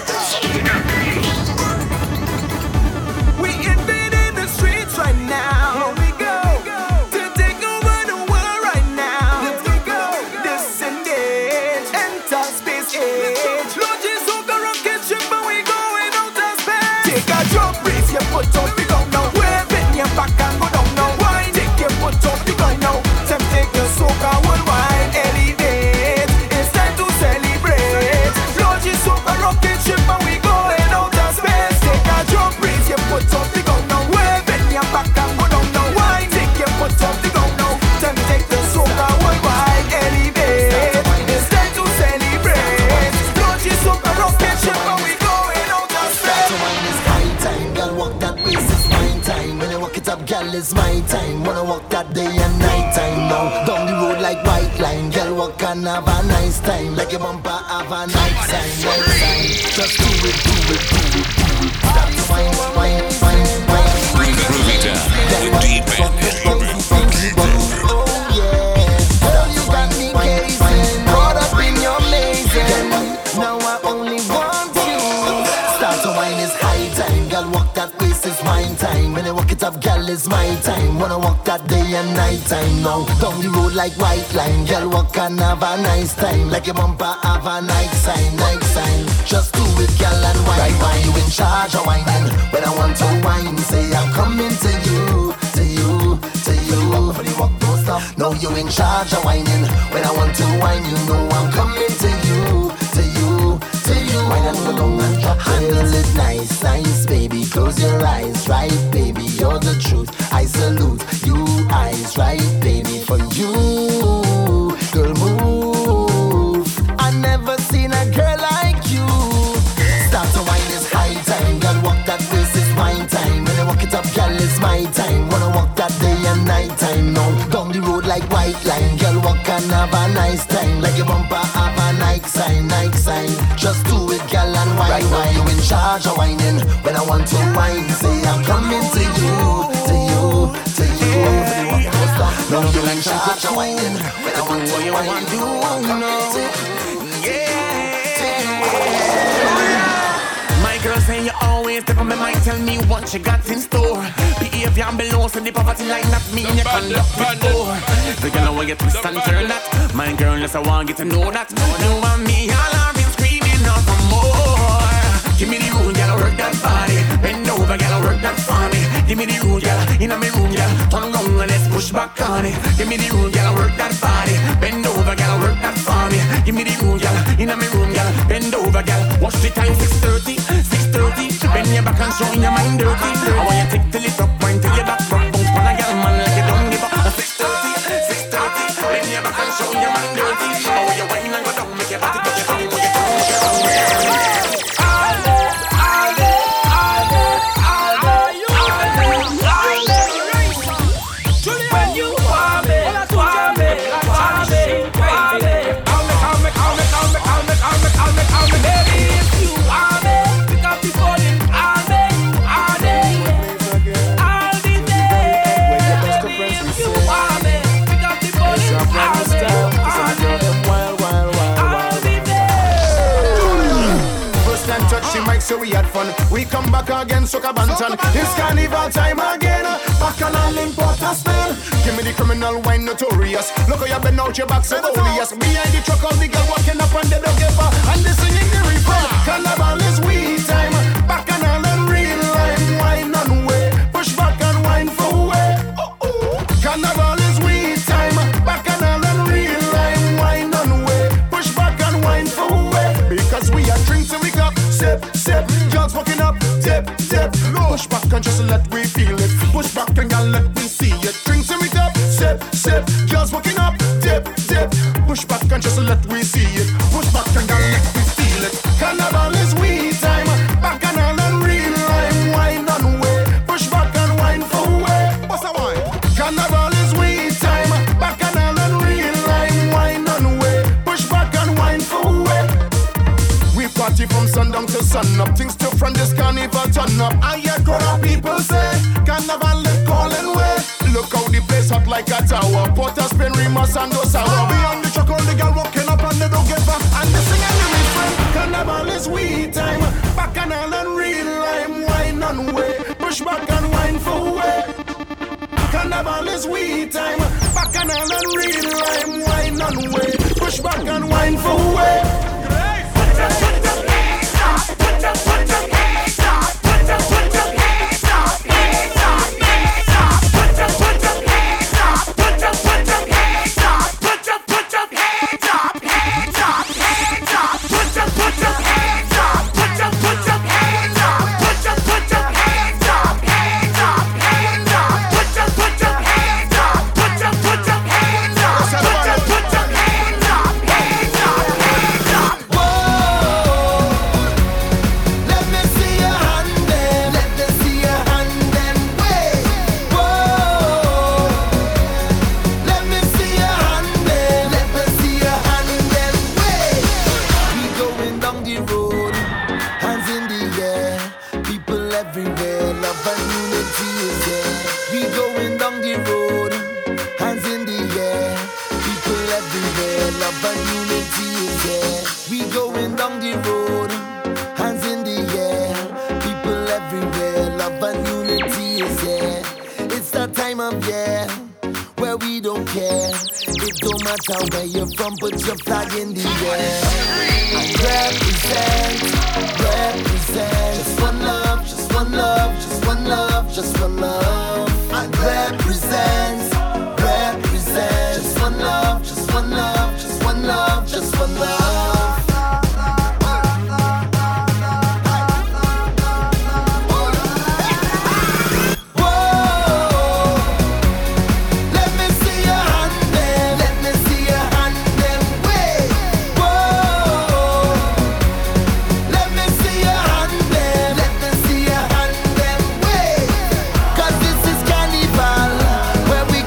We invading the streets right now. Here we go to take over the world right now. Let's go, disengage, enter space age. Launches over rocket ship and we going out of space. Take a jump, raise your foot out the ground now. Wave in your back and go down now. Why take your foot out the ground now? Time take your soca worldwide, elevate. It's time to celebrate. Launches over rocket ship and we going out of space. Take a jump, raise your foot out the ground now. Wave in your back and go down now. Why take your foot out the ground now? Time to take the soca worldwide, elevate. It's time to celebrate. Launches over rocket ship and we going out of space. So mine is high time, girl walk that waist, it's my time. When I walk it up, girl, it's my time. Wanna walk that day and night time now. Down the road like white line, girl walk and have a nice time. Like your bumper have a night time, night time. Just do it, do it, do it, do it. Stop the wine, wine, wine, wine. Groovy Town with D-Bandit. Oh yeah, oh you got me gazing, caught up in your mazing. Now I only want you. Start to wine is high time, girl walk that waist is my time. When I walk it up, girl it's my time. Wanna walk that day and night time now. Down the road like white line, girl walk and have a nice time. Like your bumper have a night sign, night sign. Just do it, girl, and wine. Right, wine. You in charge of whining. When I want to wine, say I'm coming to you, to you, to you. Walk for the walk, don't stop. No, you in charge of whining. When I want to wine, you know I'm coming to you, to you, to you. Wine and go down and drop. Handle it nice, nice, baby. Close your eyes, right, baby. You're the truth. I salute you, eyes, right, baby. For you, girl, move. I never seen a girl like you. Start to wine is high time. Girl, walk that waist is my time. When I walk it up, girl, it's my time. Wanna walk that day and night time. No, down the road like white line. Girl, walk and have a nice time. Like your bumper have a night sign, night sign. Just do it, girl, and wine. Right now you in charge of whining. When I want to wine, say I'm coming to you, to you, to you. No, you in charge of whining. When I want to wine, you I'm coming to you. My girl say you always step on my mind, tell me what you got in store. Behavior and below, so the poverty line, not me, you conduct before. The girl I want you to twist and turn that. My girl, yes, I want you to know that. You and me, all I've been screaming out for more. Give me the room, girl, work that body. Bend over, girl, work that for me. Give me the room, girl, in my room, girl. Turn around and let's push back on it. Give me the room, girl, work that body. Bend over, girl, work that for me. Give me the room, girl, in my room, girl. Bend over, girl. Watch the time, six thirty, six thirty. Bend your back and show your mind dirty. I want you to tick till it up, point till your back rock. Bounce on a girl, man, like you don't give up. six thirty, six thirty. Bend your back and show your mind dirty. I want you wine and go down, make your body touch your tongue, make your tongue, make your tongue, make your tongue. So we had fun. We come back again, Soca Banton. It's carnival time again. Back on all in Port of Spain. Give me the criminal wine notorious. Look how you been out your back so odious. Behind the truck, all the girl walking up on the dog giver. And they singing the reaper. Carnival is we time. Back on all in real life. Wine on way. and just let we see it. Push back and then let we feel it. Carnival is we time. Bacchanal and real lime. Wine and way. Push back and wine for way. What's that wine? Carnival is we time. Bacchanal and real lime. Wine and way. Push back and wine for way. We party from sundown to sun up. Things still from this carnival turn up. I hear crowd of people say carnival is calling way. Look how the place hot like a tower. Porter, Spain, Rimas and Osawa. We on the truck, all the girl walking up and they don't give up. And they sing and they refrain. Carnival is we time. Bacchanal and real lime. Wine and way. Push back and wine for way. Carnival is we time. Bacchanal and real lime. Wine and way. Push back and wine for way. Put your, put your hands up. Put your, put your hands up. Put your, put your hands up. Hands up, hands up. Put your, put your hands up. Put your, put your hands up. Put your, put your hands up. Hands up, hands up. Put your, put your hands up. Put your, put your hands up. Put your, put your hands up. Hands up, hands up. Put your, put your hands up. Put your, put your hands up. Put your, put your hands up. Hands up, hands up. Whoa, let me see your hand then. Let me see your hand then. Wait. Whoa, let me see your hand then. Let me see your hand then. Wait. We going down the road, hands in the air. People everywhere, love and unity is there. We going down the road, hands in the air. People everywhere, love and unity is there. We going down the road, hands in the air. People everywhere, love and unity is there. It's that time of year where we don't care. It don't matter where you're from, put your flag in the air. And represent, represent. Just one love, just one love, just one love, just one love. And represent, represent. Just one love, just one love, just one love, just one love. Whoa, let me see your hand then. Let me see your hand then. Wait. Whoa, let me see your hand then. Let me see your hand then. Wait. 'Cause this is carnival, where we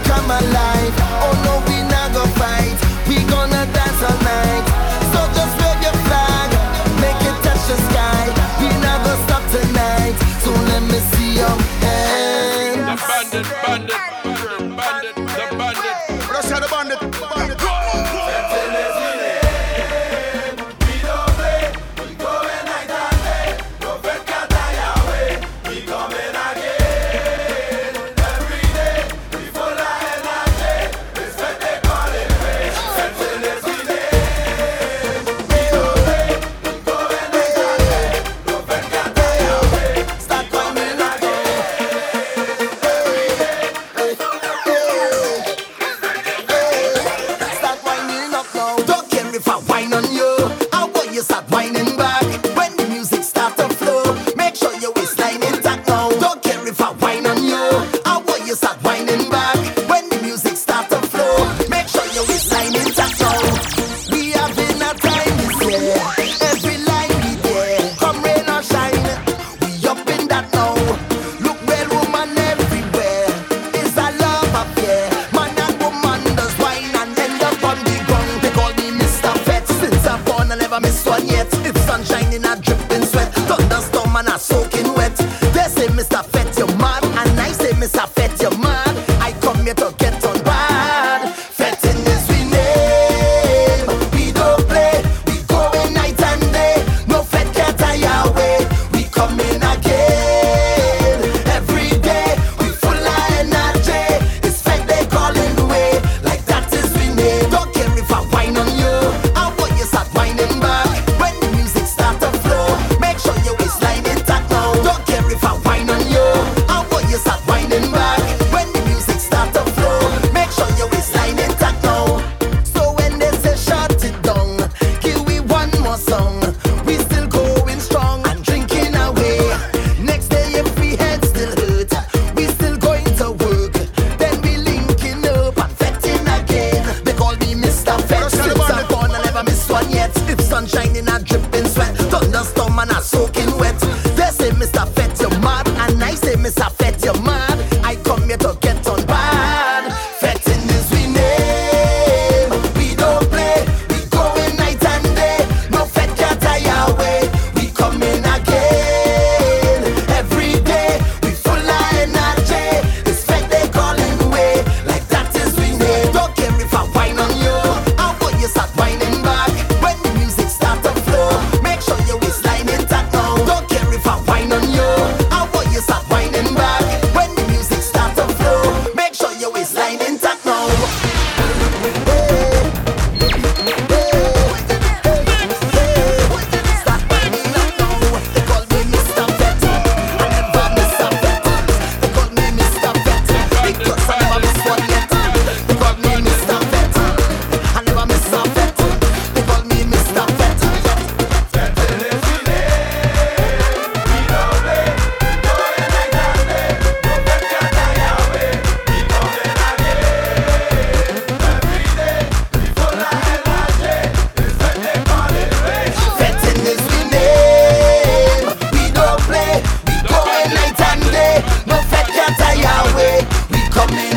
sunshine in a dripping sweat, thunderstorm and a soaking wet. They say Mister Fett you're mad, and I say Mister Fett you're mad. I come here to get on bad. Fetting is we name. We don't play. We going night and day. No fett can't tie away. We coming again every day. We full of energy. This fett they calling way. Like that is we name. Don't care if I whine on you. How about you start whining back when the music start to flow? Make sure your waistline intact now. Don't care if I whine on you. How about you start whining back when the music start to flow? Make sure your waistline intact now. Start whining up now. They call me Mister Fett. I never miss a bet. They call me Mister Fett because I never miss one yet. They call me Mister Fett. I never miss a bet. They call me Mister Fett. Fetting is we name. We don't play. We going night and day. No fett can't tie away. We coming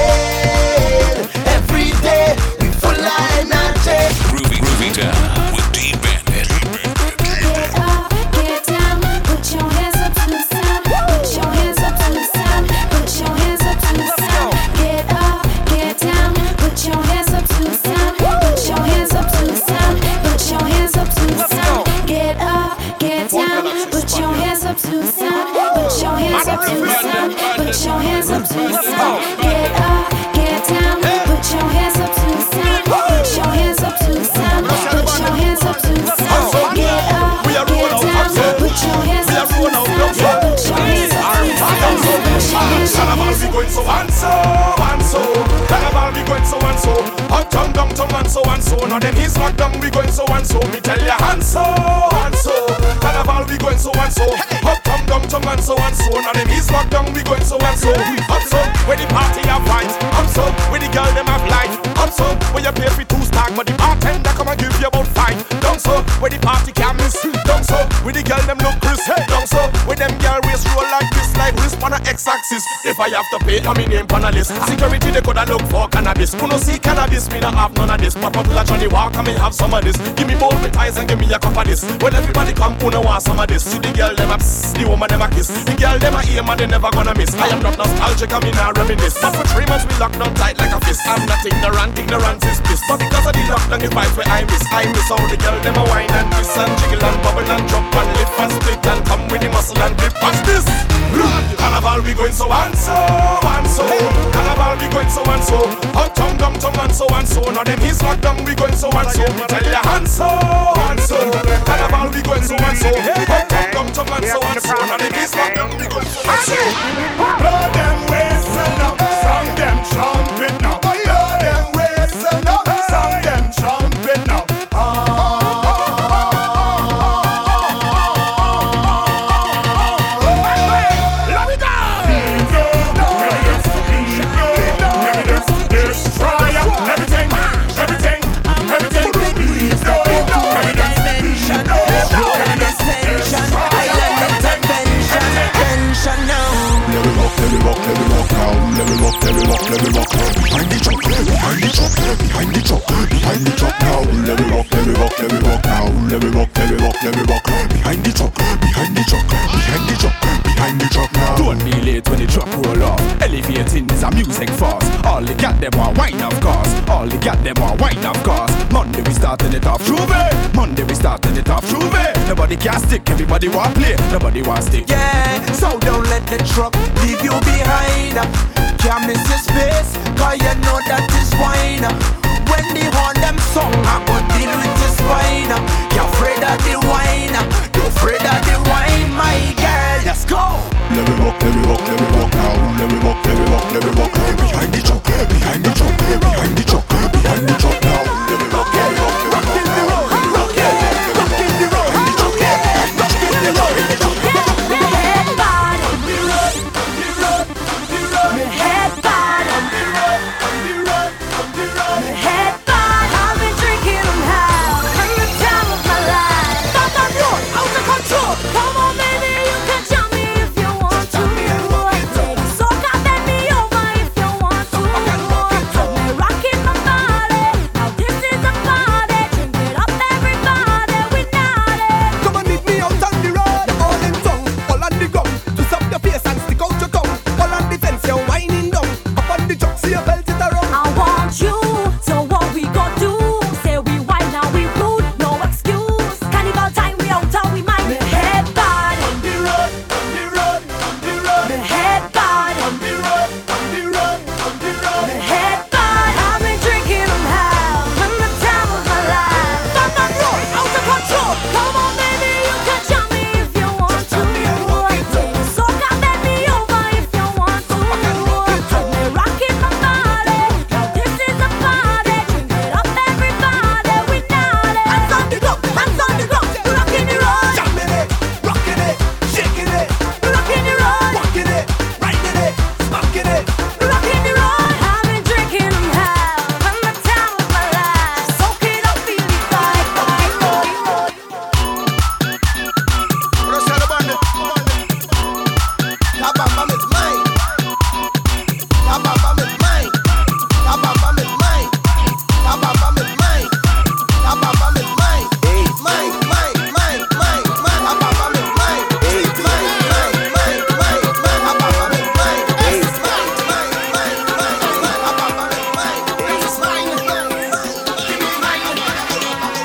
again every day. We full of energy. Groovy, groovy down with D Bandit. Get up, get down, put your hands up to the sound. Put your hands up to the sound. Put your hands up to the sound. Get up, get down, put your hands up to the sound. Put your hands up to the sound. Put your hands up to the sound. Get up, get down, put your hands up to the sound. Put your hands up to the sound. Put your hands up to the sound. Get up, get down, put your hands up to the sound. Put your hands up to the sound. Put your hands up to the sound. Get up, get down, put your hands up to the sound. Put your hands up to the sound. Carnival we going so and so and so. Carnival we going so and so. Uptown, downtown and so and so. Now them East Lockdown we going so and so. Me tell ya and so and so. Carnival we going so and so. Uptown, downtown and so and so. Now them East Lockdown we going so and so. Up so where the party have vibes. Up so where the girl them have life. Up so where you pay for two stack, but the bartender come and give you about five. Down so where the party can miss. Down so where the girl them look crisp. Down so where them girl waist roll like this, like wrist on a X-axis. If I have to pay, I'm in name on a list. Security they coulda look for cannabis. Who no see cannabis, me not have none of this. Pop up like Johnny Walker, me have some of this. Give me both with eyes and give me a cup of this. When everybody come, who no want some of this? See the girl them a psst, the woman them a kiss. The girl them a aim and they never gonna miss. I am not nostalgic, I mean I reminisce. But for three months we locked down tight like a fist. I'm not ignorant, ignorance is bliss. But because of the lockdown, it vibes where I miss. I miss all the girl them a wine and twist and jiggle and bubble and drop and lift and split and come with the muscle and flip. Watch this. Carnival we going so and so and so. Carnival we going so and so. Uptown, downtown and so and so. Now them East Lockdown we going so and so. Me tell ya and so and so. Carnival we going so and so. Uptown, downtown and so and so. Now them East Lockdown we going so and so. Blow them whistle up, song them trumpet now. Blow them whistle up, song them trumpet now. Let me rock, let me rock now. Let me rock, let me rock, let me rock. Behind the truck, behind the truck, behind the truck, behind the truck now. Let me rock, let me rock, let me rock now. Let me rock, let me rock, let me rock. Behind the truck, behind the truck, behind the truck, behind the truck now. Don't be late when the truck roll off. Elevating is a music fast. All the got them are wine of course. All the got them are wine of course. Monday we starting it off, Juve. Monday we starting it off, Juve. Nobody can stick, everybody want play. Nobody want stick. Yeah, so don't let the truck leave you behind. Can't miss your space, cause you know that is wine. When they horn them song, I go deal with your spine. You're afraid of the wine, you're afraid of the wine, my girl. Let's go. Let me rock, let me rock, let me rock now. Let me rock, let me rock, let me rock. Behind the truck, behind the truck, behind the truck, behind the truck now. Let me rock, let me rock, let me rock. Rock in the road, rock in the road, rock in the road, rock in the road, rock in the road. Head bottom, head bottom, head bottom.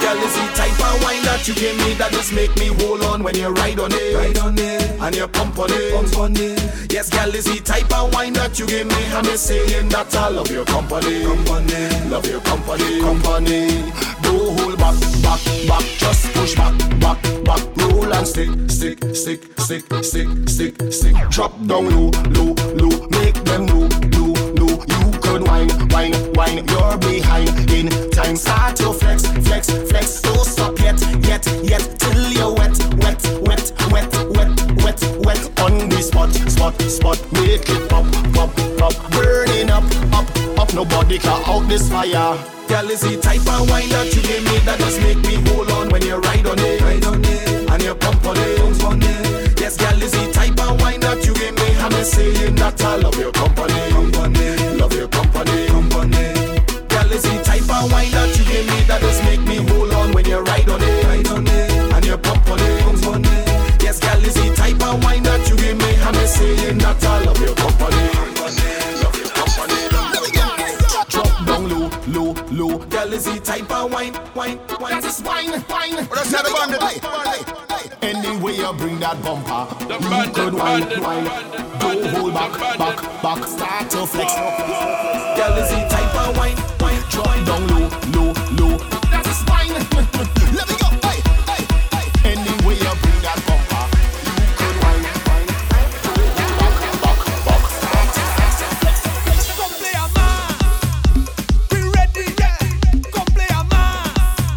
Girl, is the type of wine that you give me that just make me hold on when you ride on it, ride on it, and you pump on it, pump on it. Yes, girl, is the type of wine that you give me, and me saying that I love your company, company, love your company, company. Don't hold back, back, back, just push back, back, back, roll and stick, stick, stick, stick, stick, stick, stick. Drop down low, low, low, make them know, low, low. You could wine, wine, wine, you're behind in time. Start to flex, flex, flex. Don't stop yet, yet, yet, till you're wet, wet, wet, wet, wet, wet, wet. On the spot, spot, spot. Make it pop, pop, pop. Burning up, up, up. Nobody can out this fire. Girl, is the type of wine that you give me that just make me hold on when you ride on it, ride on it, and you pump on it, pump on it. Yes, girl, is the type of wine that you give me, and me saying that I love your company, company, love your company, company. Girl, is the type of wine that you give me that just make me hold on when you ride on it, ride on it, and you pump on it, pump on it. Yes, girl, is the type of wine that you give me, and me saying that I love your company, company, love your company. Drop down low, low, low. Girl, is the type of wine, wine, wine. This is wine, wine. Let's have a bandit. Anyway, you bring that bumper. You could wine, wine. Don't hold back, back, back. Start to flex. Girl, is the type of wine, wine. Drop down low, low, low. That is wine. Let me go. Hey, hey, hey. Anyway, you bring that bumper. You could wine, wine. Back, back, back. Start to flex. Come play a man. We ready, yeah. Come play a man.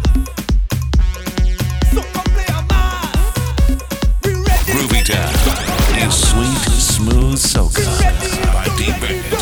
So come play a man. We ready. Groovy Town is sweet, smooth soca by D-Bandit.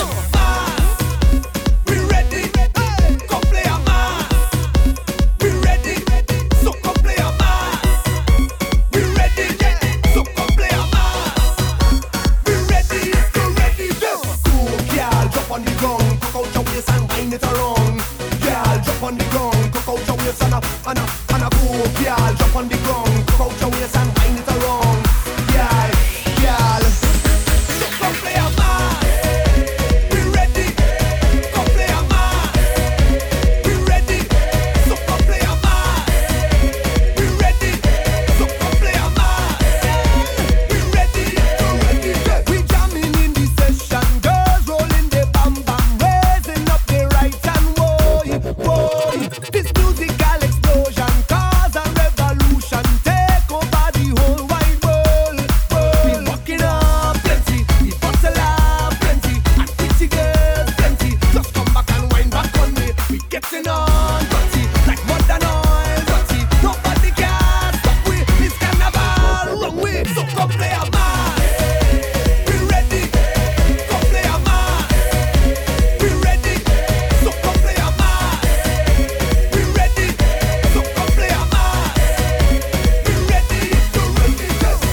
We ready. Hey, come play a man. We ready. So come play a man. We ready, yeah. So come play a man. We ready, so ready, yeah. Cool, girl, drop on the ground, cock out your waist and wind it around. Girl, drop on the ground, cock out your waist and a, and a, and a cool, girl, drop on the ground, cock out your waist and wind it around. Girl, girl, So come play a man. We ready. Come play a man. We ready. So come play a man. We ready. So come play a man. We ready. So ready. we jamming in the session, girls rolling the bam bam, raising up the right hand, boy, boy. This musical explosion cause a revolution, take over the whole wide world, world. We walking up plenty, we bustle up plenty, and pretty girls plenty. Just come back and wind back on me. We getting on dirty, like modern oil dirty. Nobody can stop we. This carnival wrong way. So come play a man. We ready. Come play a man. We ready. So come play a man. We ready. So come play a man. We ready. So ready.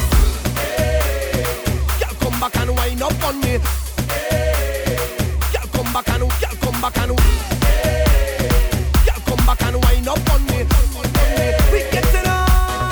Girl, come back and wind up on me. Girl, come back and, girl, come back and, girl, come back and wind up on me. We getting on.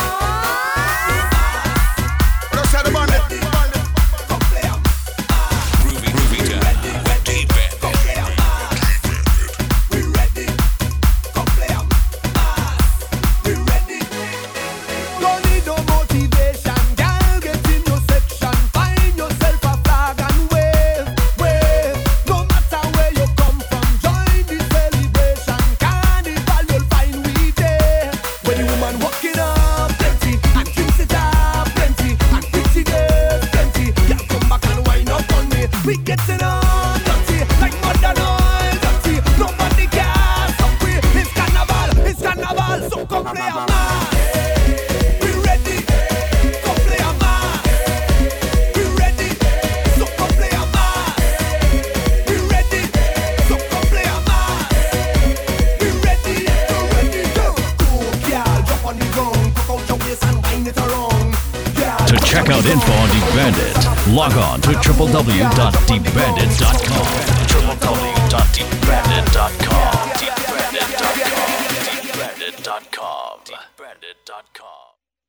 Let's have a bandit. Come play a man. Groovy, Groovy Town with D-Bandit. Come play a man. We ready. Come play a man. We ready. Don't need no motivation, girl, get in your section. Find yourself a flag and wave, wave. No matter where you come from, join the celebration. Carnival, you'll find we there. When the woman walking up plenty, and drinks it up plenty, and pretty girls plenty. Girl, come back and wind up on me. We getting on dirty, like modern oil dirty. Nobody can stop we. It's carnival, it's carnival. So come play a man. We ready. Come play a man. We ready. So come play a man. We ready. So come play a man. We ready. So ready. Cool, girl, drop on the ground, cock out your waist and wind it around. Girl, To check out info on D-Bandit, log on to w w w dot d bandit dot com. w w w dot d bandit dot com. d bandit dot com. d bandit dot com. d bandit dot com.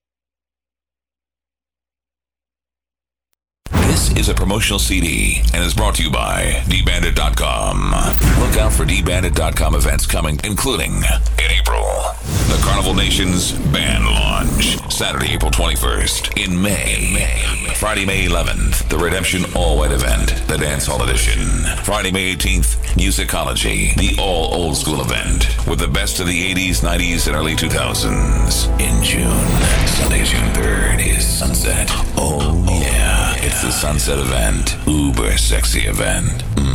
This is a promotional C D and is brought to you by D Bandit dot com. Look out for D Bandit dot com events coming, including in April, the Carnival Nation's Band Launch. Saturday, April twenty-first. In May. May. Friday, May eleventh. The Redemption All White Event. The Dance Hall Edition. Friday, May eighteenth. Musicology. The All Old School Event. With the best of the eighties, nineties, and early two thousands. In June. Sunday, June third is Sunset. Oh, yeah. It's the Sunset event. Uber sexy event.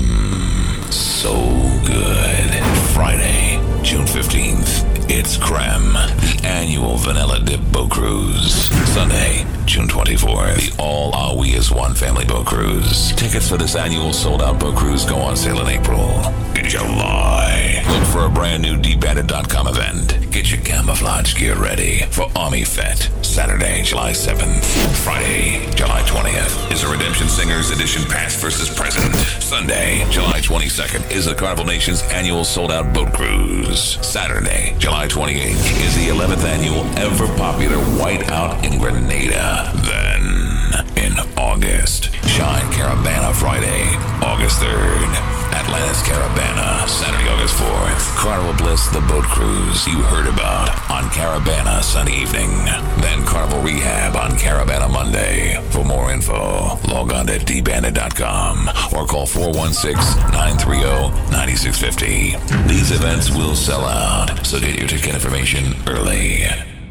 Mmm. So good. Friday, June fifteenth. It's Creme, the annual Vanilla Dip Boat Cruise. Sunday, June twenty-fourth, the All Are We As One Family Boat Cruise. Tickets for this annual sold-out boat cruise go on sale in April. In July, look for a brand new D Bandit dot com event. Get your camouflage gear ready for Army Fete. Saturday, July seventh. Friday, July twentieth is a Redemption Singers Edition Past versus Present. Sunday, July twenty-second is the Carnival Nation's annual sold-out boat cruise. Saturday, July twenty-eighth is the eleventh annual ever popular Whiteout in Grenada. Then, in August, Shine Caravana Friday, August third. Atlantis Caravana, Saturday, August fourth. Carnival Bliss, the boat cruise you heard about on Caravana Sunday evening. Then Carnival Rehab on Caravana Monday. For more info, log on to D Bandit dot com or call four one six, nine three zero, nine six five zero. These events will sell out, so get your ticket information early.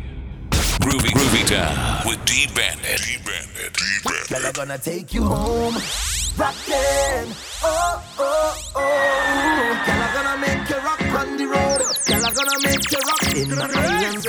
Groovy, Groovy Town with D Bandit. D Bandit. D Bandit. Girl, I'm gonna take you home. Rockin', oh, oh, oh. Girl, I'm gonna make you rock on the road. Girl, I'm gonna make you rock in my island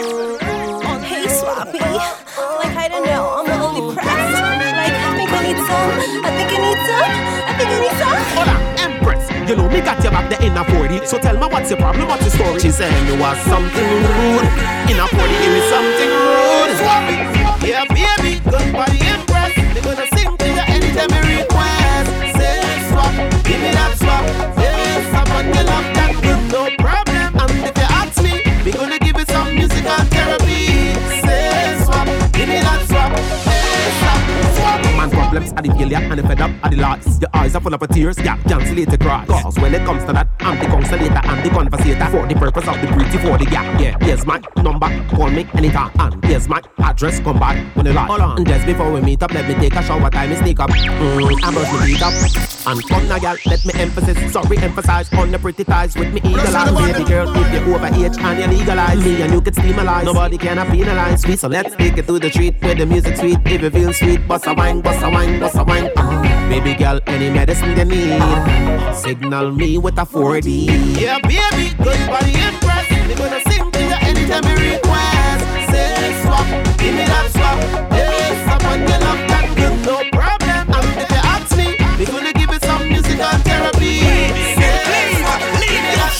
zone. Hey, Swappy. Like, I don't know, I'm a little depressed. Like, I think I need some. I think I need some. I think I need some. Hold on, Empress. You know me got your back there in a forty. So tell me what's your problem, what's your story? She said you was something rude. In a forty, give me something rude. Swappy. Yeah, baby, good body Empress. They gonna sing to you anytime you request. Say swap, give me that swap. Say swap on your love that good, no problem. And if you ask me, we gonna give you some musical therapy. Say swap, give me that swap. Say swap, swap. Man problems are the failure and the fed up are the lots. Your eyes are full of tears, yeah, cancel it to cry. Cause when it comes to that, I'm the consolator and the conversator. For the purpose of the pretty for the gap, yeah. Here's my number, call me anytime. And here's my address, come back when you like. Hold on, and just before we meet up, let me take a shower, time is sneak up. Mm, I brush my teeth up. And come now, girl, let me emphasize, sorry, emphasize on the pretty thighs with me eagle eyes. Baby girl, if you're over age and you legalize, me and you can steam a lie. Nobody can penalize me, so let's take it to the street where the music sweet. If you feel sweet, bust a wine, bust a wine, bust a wine. Uh, baby girl, any medicine you need, signal me with a four D. Yeah, baby, good body Empress. We're gonna sing to you anytime you request. Say swap, give me that swap. Hey, someone you love that good, no problem. And if you ask me, we're gonna give you some musical therapy. Say swap, give me that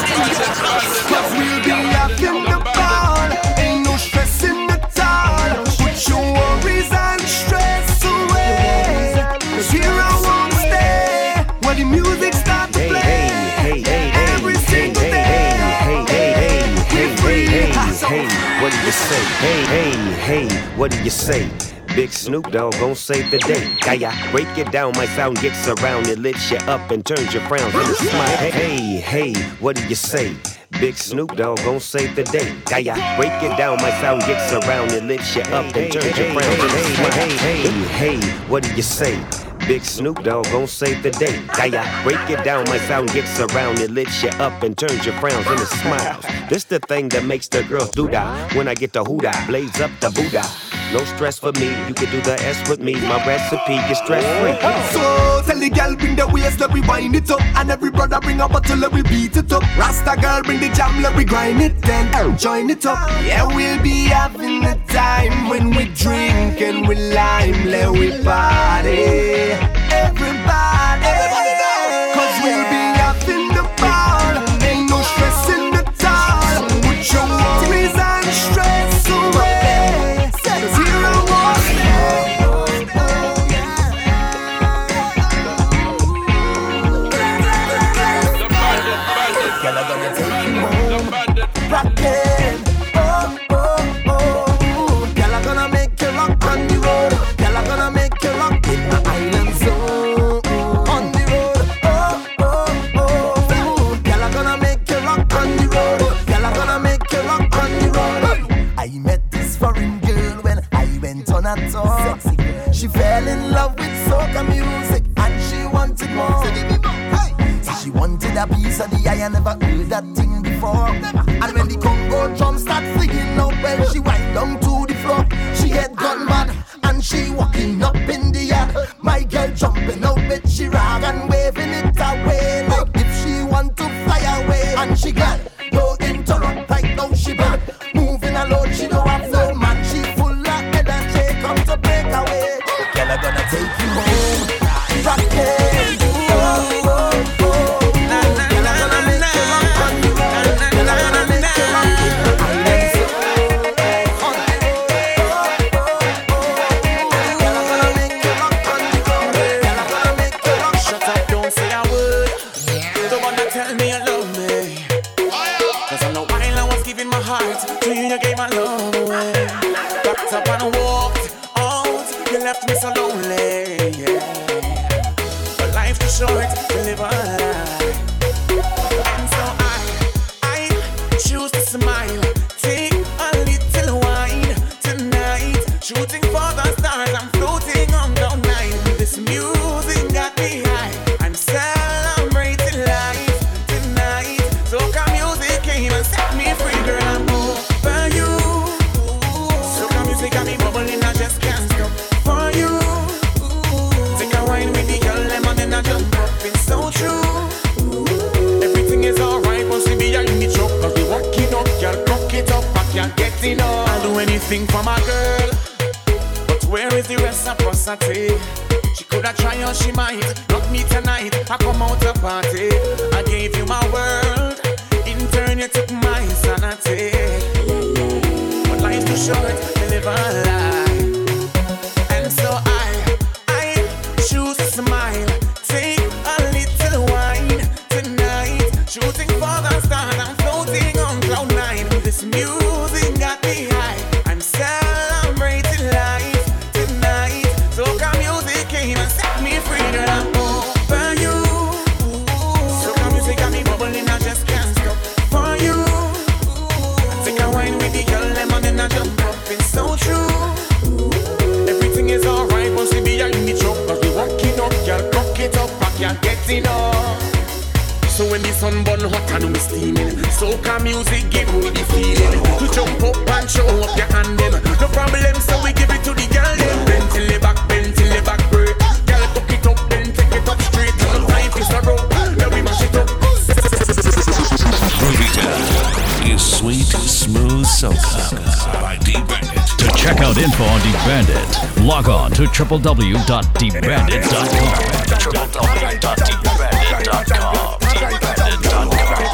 swap. Cause we'll be rocking the ball. Ain't no stressing at all. Put your worries and stress away. Cause here I wanna stay when the music starts to play. Hey, hey, hey, hey, every single hey, day. Hey, hey, hey, hey, hey, hey, hey, hey, what do you say? Hey, hey, hey, what do you say? Big Snoop Dogg gon' save the day. Gaia, break it down, my sound gets around. It lifts you up and turns your frowns into a smile. Hey, hey, hey, what do you say? Big Snoop Dogg gon' save the day. Gaia, break it down, my sound gets around. It lifts you up and turns your frowns into a smile. Hey, hey, hey, what do you say? Big Snoop Dogg gon' save the day. Gaia, break it down, my sound gets around. It lifts you up and turns your frowns into smiles. This the thing that makes the girls do that. When I get the hoo-dah, blaze up the Buddha. No stress for me, you can do the S with me. My recipe is stress-free. So tell the girl bring the waist, let we wind it up. And every brother bring a bottle, let we beat it up. Rasta girl bring the jam, let we grind it then join it up. Yeah, we'll be having a time when we drink and we lime, let we party. Everybody, cause we'll be having the ball. Ain't no stress in the town. Put your worries and stress away. Cause here I was. Girl, I'm gonna take you home. Rockin', oh, oh, oh. Girl, I'm gonna make you rock on the road. Girl, I'm gonna make you rock in my island zone. in love with soca music, and she wanted more. So she wanted a piece of the eye, I never heard that thing before. And when the Congo drum start singing out, well, she wind down to the floor. She had gone mad, and she walking up in the air. My girl jumping out with she rag and waving it away, like if she want to fly away. And she got no interrupt, right now she bad. Moving alone, she don't have no man. She full of energy, come to break away. Girl, I'm gonna take you home, rock it. Oh, oh, oh. Left me so lonely, yeah. But life too short to live a lie. And so I, I choose to smile. Take a little wine tonight. Shooting for the stars, I'm floating on the night. This music got me high. I'm celebrating life tonight. Soca music came and set me free, girl. I'm over you. Soca music got me bubbling, I just can't stop. For you, take a wine with the girl, lemon and I jump up. It's so true. Everything is alright once we be in the truck. Cause we walk it up, girl, cock it up, I can't get enough. I'll do anything for my girl, but where is the reciprocity? She coulda tried or she might. Not me tonight, I come out to party. I gave you my world, in turn you took my sanity. But life's too short to live a lie. So I, I choose to smile. Take a little wine tonight. Shooting for the stars, I'm floating on cloud nine. This music got me high. I'm celebrating life tonight. Soca music came and set me free. Girl, I'm over you. Soca music got me bubbling, I just can't stop. For you, take a wine with the girl, lemon and I jump up. It's so true. It's alright once we be in the truck. Cause we walking up, girl, cock it up, I can't get enough. So when the sun burn hot and we steaming, soca music give me the feeling. To jump up and show up your hand them. No problem, so we give it to the girl them. Bend till the back, bend till the back break. Girl, cock it up, then take it up straight. No time for a rope, now we mash it up. Groovy Town is sweet, smooth soca by D-Bandit. To check out info on D-Bandit, log on to w w w dot d bandit dot com. w w w dot d bandit dot com. d bandit dot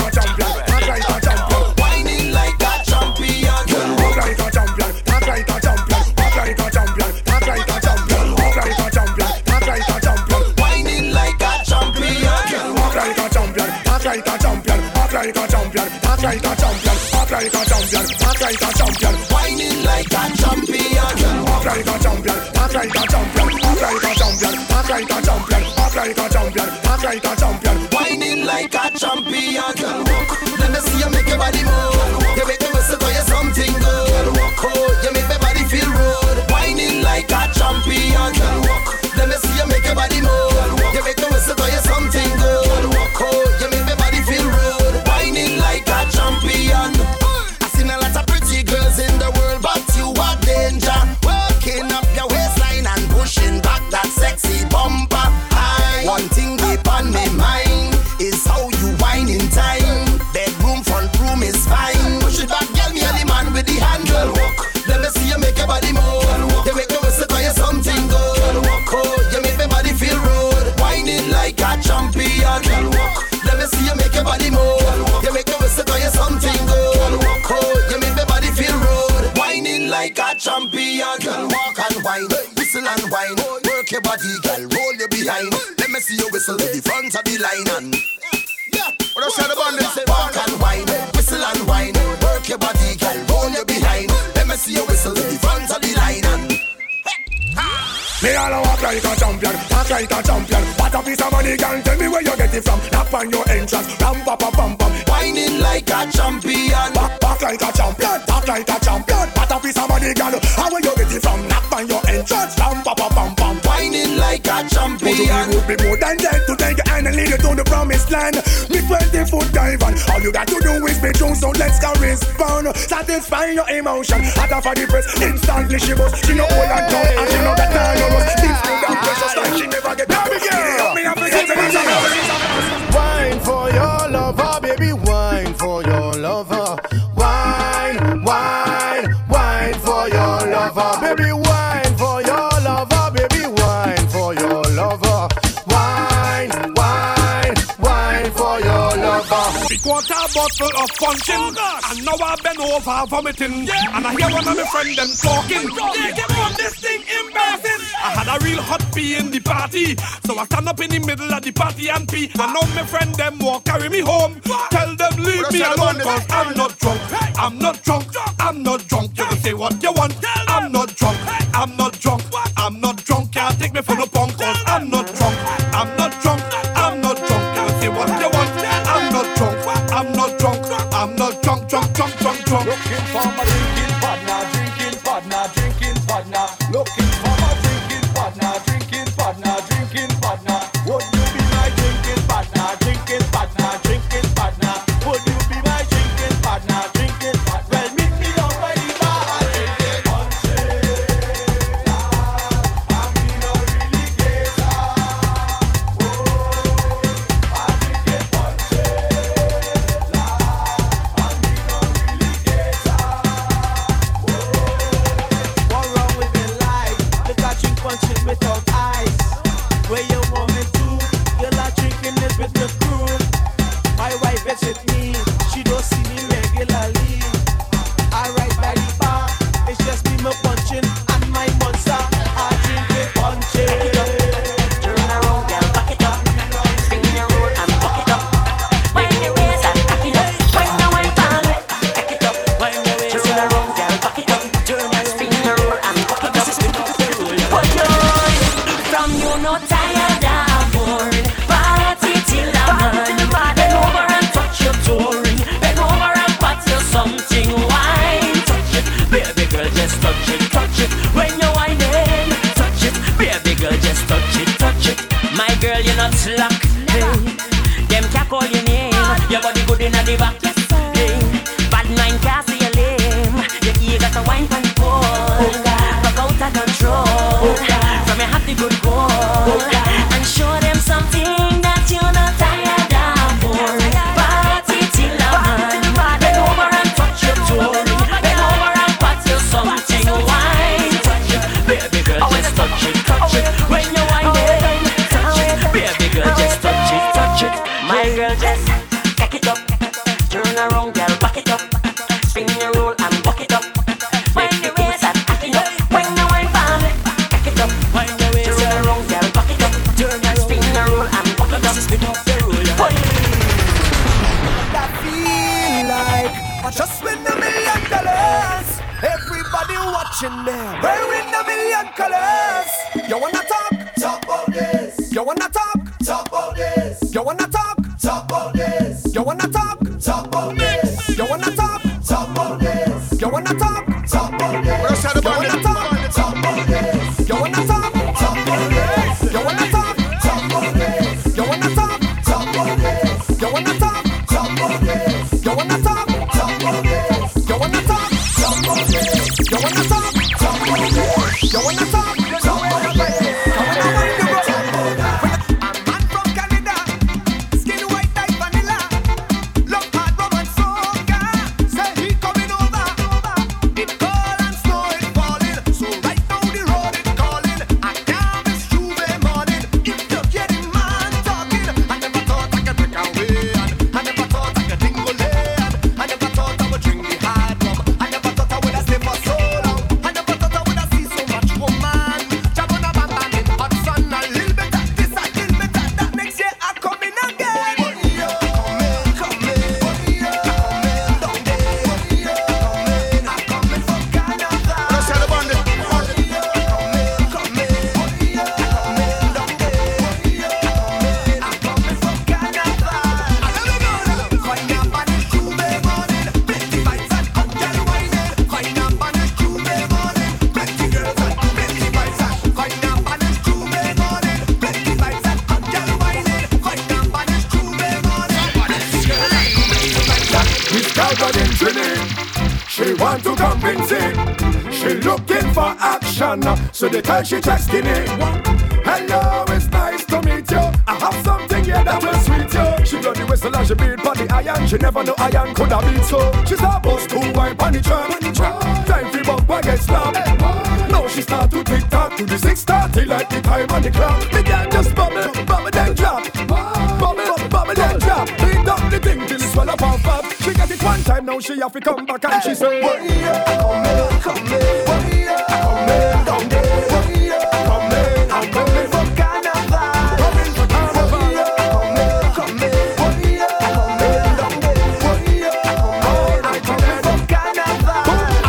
com. Whining like a champion. Walk like a champion. Talk like a champion. Walk like a champion. Talk like a champion. Walk like a champion. Talk like a champion. Whining like a champion. Walk like a champion. Talk like a champion. Walk like a champion. Talk like a champion. Walk like a champion. Talk like a champion. Whining like a champion. Walk like a champion. Talk like a champion. Walk like a champion. Talk like a champion. Walk like a champion. Talk like a champion. Whining like a champion. Let me see you make your body move. You make me whistle for you something good. Oh, you make my body feel rude. Whining like a champion. Let me see you make your body move. You make me whistle for you something good. Oh, you make my body feel rude. Whining like a champion. I seen a lot of pretty girls in the world, but you are danger. Working up your waistline and pushing back that sexy bumper. I, one thing deep on my mind is how you whine in time. Bedroom, front room is fine. Push it back, girl, me and the man with the handle. Let me see you make your body move. You make me whistle for you something good. Oh, you make my body feel rude. Whining like a champion. Let me see you make your body move. You make me whistle for you something good. Oh, you make my body feel rude. Whining like a champion. Girl, walk and whine, whistle and whine. Work your body, girl, roll you behind. Let me see you whistle to the front of the line and yeah, what I said about this. Walk and whine, whistle and whine. Work your body, girl, roll you behind. Let me see you whistle to the front of the line and me all walk like a champion, talk like a champion. What a piece of money, girl, tell me where you get it from. Knock on your entrance, ram pa pa pam pam. Whining like a champion. Walk, walk like a champion, talk like a champion. What a piece of money, girl, how where you get it from. Knock on your entrance, ram pa pa pam pam. Whining me would be more than dead to take your hand and lead you to the promised land. Me twenty foot dive and all you got to do is be true, so let's correspond. Satisfy your emotion, out of the press, instantly she was. She no old and tall and she no got time no rust. This food and precious like she never get down again. Me have to get to wine for your lover, baby, wine for your lover. Wine, wine, wine for your lover, baby, wine for your lover, baby, wine for your lover. Wine, wine, wine for your lover. Big water bottle of punching, oh, and now I bend over vomiting, yeah. And I hear one of my friends them talking. Yeah, come on, this thing embarrassing. I had a real hot pee in the party, so I stand up in the middle of the party and pee. And now my friend them walk carry me home. Tell them leave me alone, cause I'm not drunk. I'm not drunk, I'm not drunk. You can say what you want. I'm not drunk, I'm not drunk. I'm not drunk, can't take me for no punk, cause I'm not drunk. I'm not drunk, I'm not drunk. You can say what you want. I'm not drunk, I'm not drunk. I'm not drunk, drunk, drunk, drunk, drunk. Looking for my drinking partner, drinking partner, drinking partner. Looking for my drinking partner, drinking partner, drinking partner. Would you be my drinking partner, drinking partner, drinking partner? Would you be my drinking partner, drinking partner? Well, meet me down by the bar, drinking punches. I mean, I really get out. Oh, I drinking punches. Punches without ice. Where you want me to? You're not drinking it with the crew. My wife visit me. She don't see me regularly. I ride by the bar. It's just me, my punching and my monster. I drink it punching. Turn around, girl, back it up. Spin your roll and back it up. Wind your waist and back it up. Wind the way back, back it up. Wind your waist. Turn around, girl, back it up. Turn and spin your roll and back it up. From you no tired of boring, party till I'm done. Bend over and touch your touring. Bend over and pat you something. Wine, touch it, baby girl, just touch it, touch it. When you're whining, touch it, baby girl, just touch it, touch it. My girl, you're not slack. Hey. Them can't call your name. Your body good inna the back. Hey. Bad mind can't see your lame. Your ear got a wine pan pole. Rock out of control. From your happy good goal, and show them something that you're not tired of. Party till I'm done. Bend over and touch your toe. Bend over and pat you something. Wine, touch it, baby girl, just touch it, touch it. When you're whining, touch it, baby girl, just touch it, touch it. My girl, just back it up. Turn around, girl, back it up. Spin your roll and back it up. When you raise and back it up. When you wine for me, back it up. When you raise, turn around, girl, back it up. Turn and spin your roll and back it up. Spin up the roll. I feel like I just win a million dollars. Everybody watching them, wearing a million colors. You wanna talk? Talk about this. You wanna talk? Talk about this. You wanna talk? Talk about this. You wanna talk? Talk about this. You wanna talk? Talk about this. You wanna talk? Talk about this. You wanna talk? Talk about this. You wanna talk? Talk about this. You wanna talk? Talk about this. You wanna talk? Talk about this. You wanna talk? Talk about this. You wanna talk? Talk about this. You wanna talk? Talk about this. You wanna talk? Talk about this. You wanna talk? Talk about this. Woman She want to compensate. She looking for action, so they tell she just skinny. Hello, it's nice to meet you. I have something here that will sweet you. She blow the whistle and she beat for the iron. She never know iron could have beat so. She's supposed to wipe on the trap. Time for bump and get slapped. Now she start to tick tock to the six thirty like the time on the clock. The girl just bubble, bubble then drop. Bubble, bubble then drop. Beat up the thing till it swell up and pop. She get it one time, now she have to come back and she say, oh yeah, come here, come here, oh yeah, come here, come here, oh yeah, come here, I'm coming for carnival, coming for carnival, come here, come here, oh yeah, come here, come here, oh yeah, come here, I'm coming for carnival.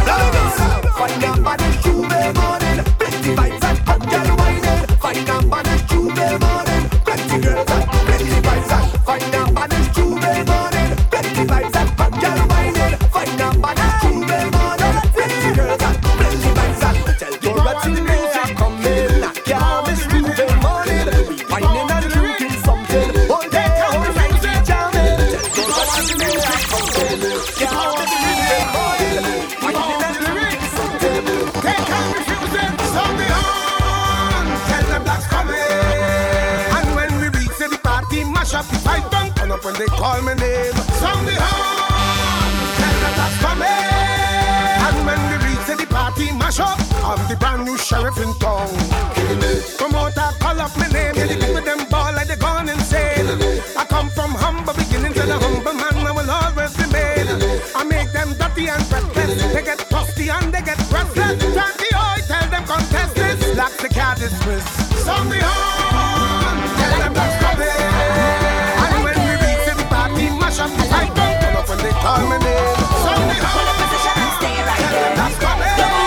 Find out by the Tuesday morning, plenty vibes and hot girl whining. Find out by the Tuesday morning, plenty girls and plenty vibes and find out by the Tuesday morning, plenty vibes and hot girl whining. Find out by the Tuesday morning, plenty girls and plenty vibes and tell Dorothy music coming. Yeah, this Tuesday morning, whining and drinking something. All day, all night, jamming. Tell Dorothy music coming. Yeah, this Tuesday morning, whining and drinking something. They can't refuse it. Sound the horn, tell them that's coming. And when we reach the party, mash up the pipe, don't turn up when they call my name. Sound the horn, tell them that's coming. And when we reach the party, mash up, I'm the brand new sheriff in town. Promoter, call up my name. Yeah, the people them ball like they gone insane. I come from humble beginnings and a humble man I will always remain. I make them dirty and breathless. They get thirsty and they get restless. Turn the oil, tell them contest this. Lock the car dismiss. Sound the horn, tell them that's coming. And when we reach the party, mash up the pipe, don't turn up when they call my name. Sound the horn, tell them that's coming.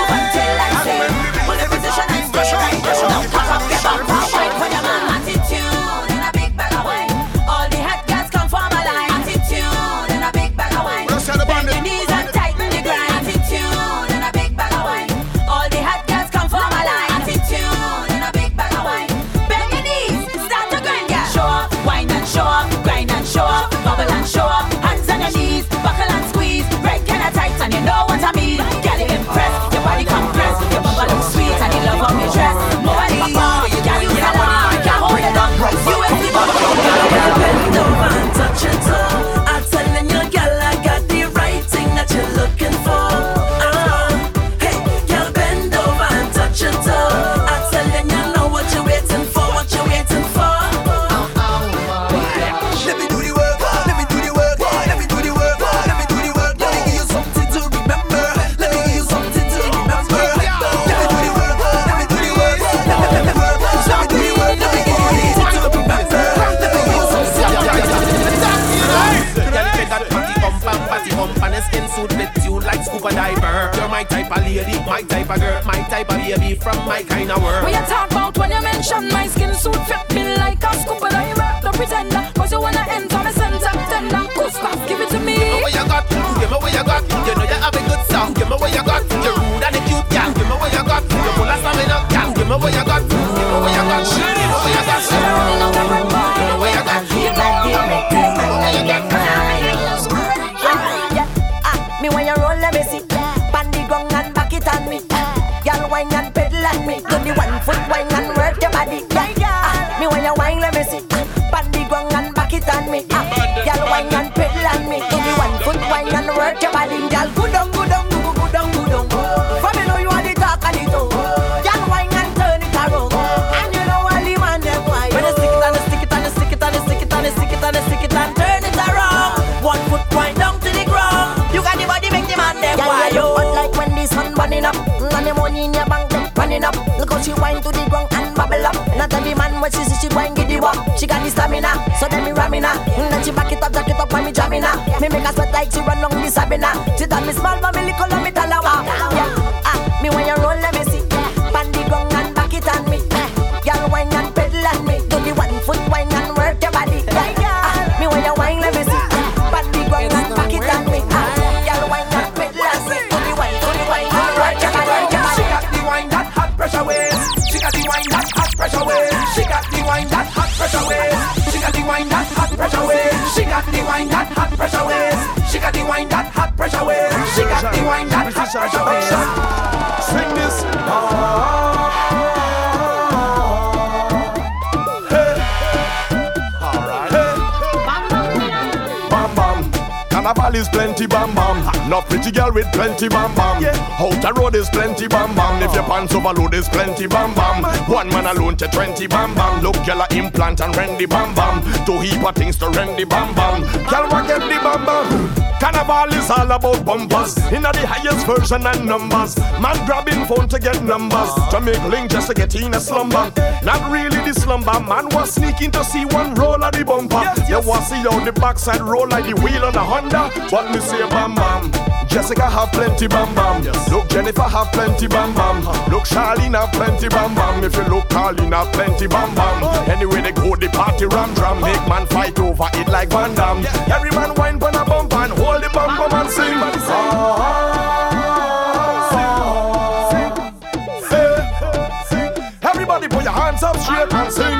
And when we reach the party, mash up the pipe, don't turn up the sheriff in town. Attitude and a big bag of wine. All the hot girls come from a line. Attitude and a big bag of wine. Bend your knees and tighten the grind. Attitude and a big bag of wine. All the hot girls come from a line. Attitude and a big bag of wine. Bend your knees, start to grind, girl. Show up, wine and show up, grind and show up, bubble and show up. Hands on your knees, buckle and squeeze. Right kinda tight and you know what I mean. Girl, you impress, your body compress, your bubble look sweet and you love how you dress. Nobody more, girl, you got one. You and the bubble bend over and touch your toe. I'm telling you, girl, I got the right thing that you're looking for. Uh, hey, girl, bend over and touch your toe. I'm telling you, know what you're waiting for, what you're waiting for. Let me do the work, let me do the work, let me do the work, let me do the work. Let me give you something to remember. Let me give you something to remember. Let me do the work, let me do the work, let me do the work, let me do the work. Let me give you easy to remember. Let me give you something to remember. Girl, get that party bump and party bump and a skin suit with you like scuba diver. You're my type of lady, my type of girl, my type of baby from my kind of world. What you talk about when you mention my skin suit fit me like a scuba diver? No pretender, cause you wanna enter my center. Tender, Gustav, give it to me. Give me what you got, give me what you got. You know you have a good song, give me what you got. You're rude and a cute gal, give me what you got. You're full of stamina, gal, give me what you got. Give me what you got, give me what you got. Give me what you got. You might be a me when you roll, let me see. Bandy gong and back it on me. Y'all wine and pedal on me. Do the one foot wine and work your body. Yeah, me when you wine, let me see. Bandy gong and back it on me. Y'all wine and pedal on me. Do the one foot wine and work your body. Y'all go down, go down, go go down, go down. For me know you are the talk and the talk. Y'all wine and turn it around. And you know all the man them wine. When you stick it and you stick it and you stick it and you stick it and you stick it and you stick it and turn it around. One foot wine down to the ground. You got the body make the man them wine. Yeah, you hot like when the sun burning up. And the money in your bank them running up. Look how she wine to the ground and bubble up. Not every man when she see she wine give the walk. She got the stamina, so then me ramming her. Then she back it up, jack it up when me jamming her. Me make her sweat like she run long the Sabina. She tell me small but me little and me tell her wow. Yeah, ah, me when you roll let me see. Bandy gong and back it on me. Girl wine and pedal on me. Do the one foot wine and work your body. Ah, me when you wine let me see. Bandy gong and back it on me. Girl wine and pedal on me. Do the one foot wine and work your body. She got the wine that hot pressure waves. She got the wine that hot pressure waves. She got the wine that hot pressure waves. She got the wine that hot pressure waves. She got the wine that hot pressure waves. She got the wine that hot pressure waves. She got the wine that hot action. Swing this. Ah. Hey. Alright. Hey. Bam bam. Carnival is plenty bam bam. No pretty girl with plenty bam bam. Out the road is plenty bam bam. If your pants overload is plenty bam bam. One man alone to twenty bam bam. Look girl a implant and rendy bam bam. Two heap of things to rendy bam bam. Girl want get the bam bam. Carnival is all about bumpers. In the highest version and numbers. Man grabbing phone to get numbers. To make link just to get in a slumber. Not really the slumber. Man was sneaking to see one roll of the bumper. You want see how the backside roll like the wheel on a Honda. But me say bam bam. Jessica have plenty bam bam. Look Jennifer have plenty bam bam. Look Charlene have plenty bam bam. If you look Carlene have plenty bam bam. Anyway they go the party ram drum. Make man fight over it like Van Damme. Every man whine pon a bump and hold the bum bum and sing. Everybody put your hands up straight and sing.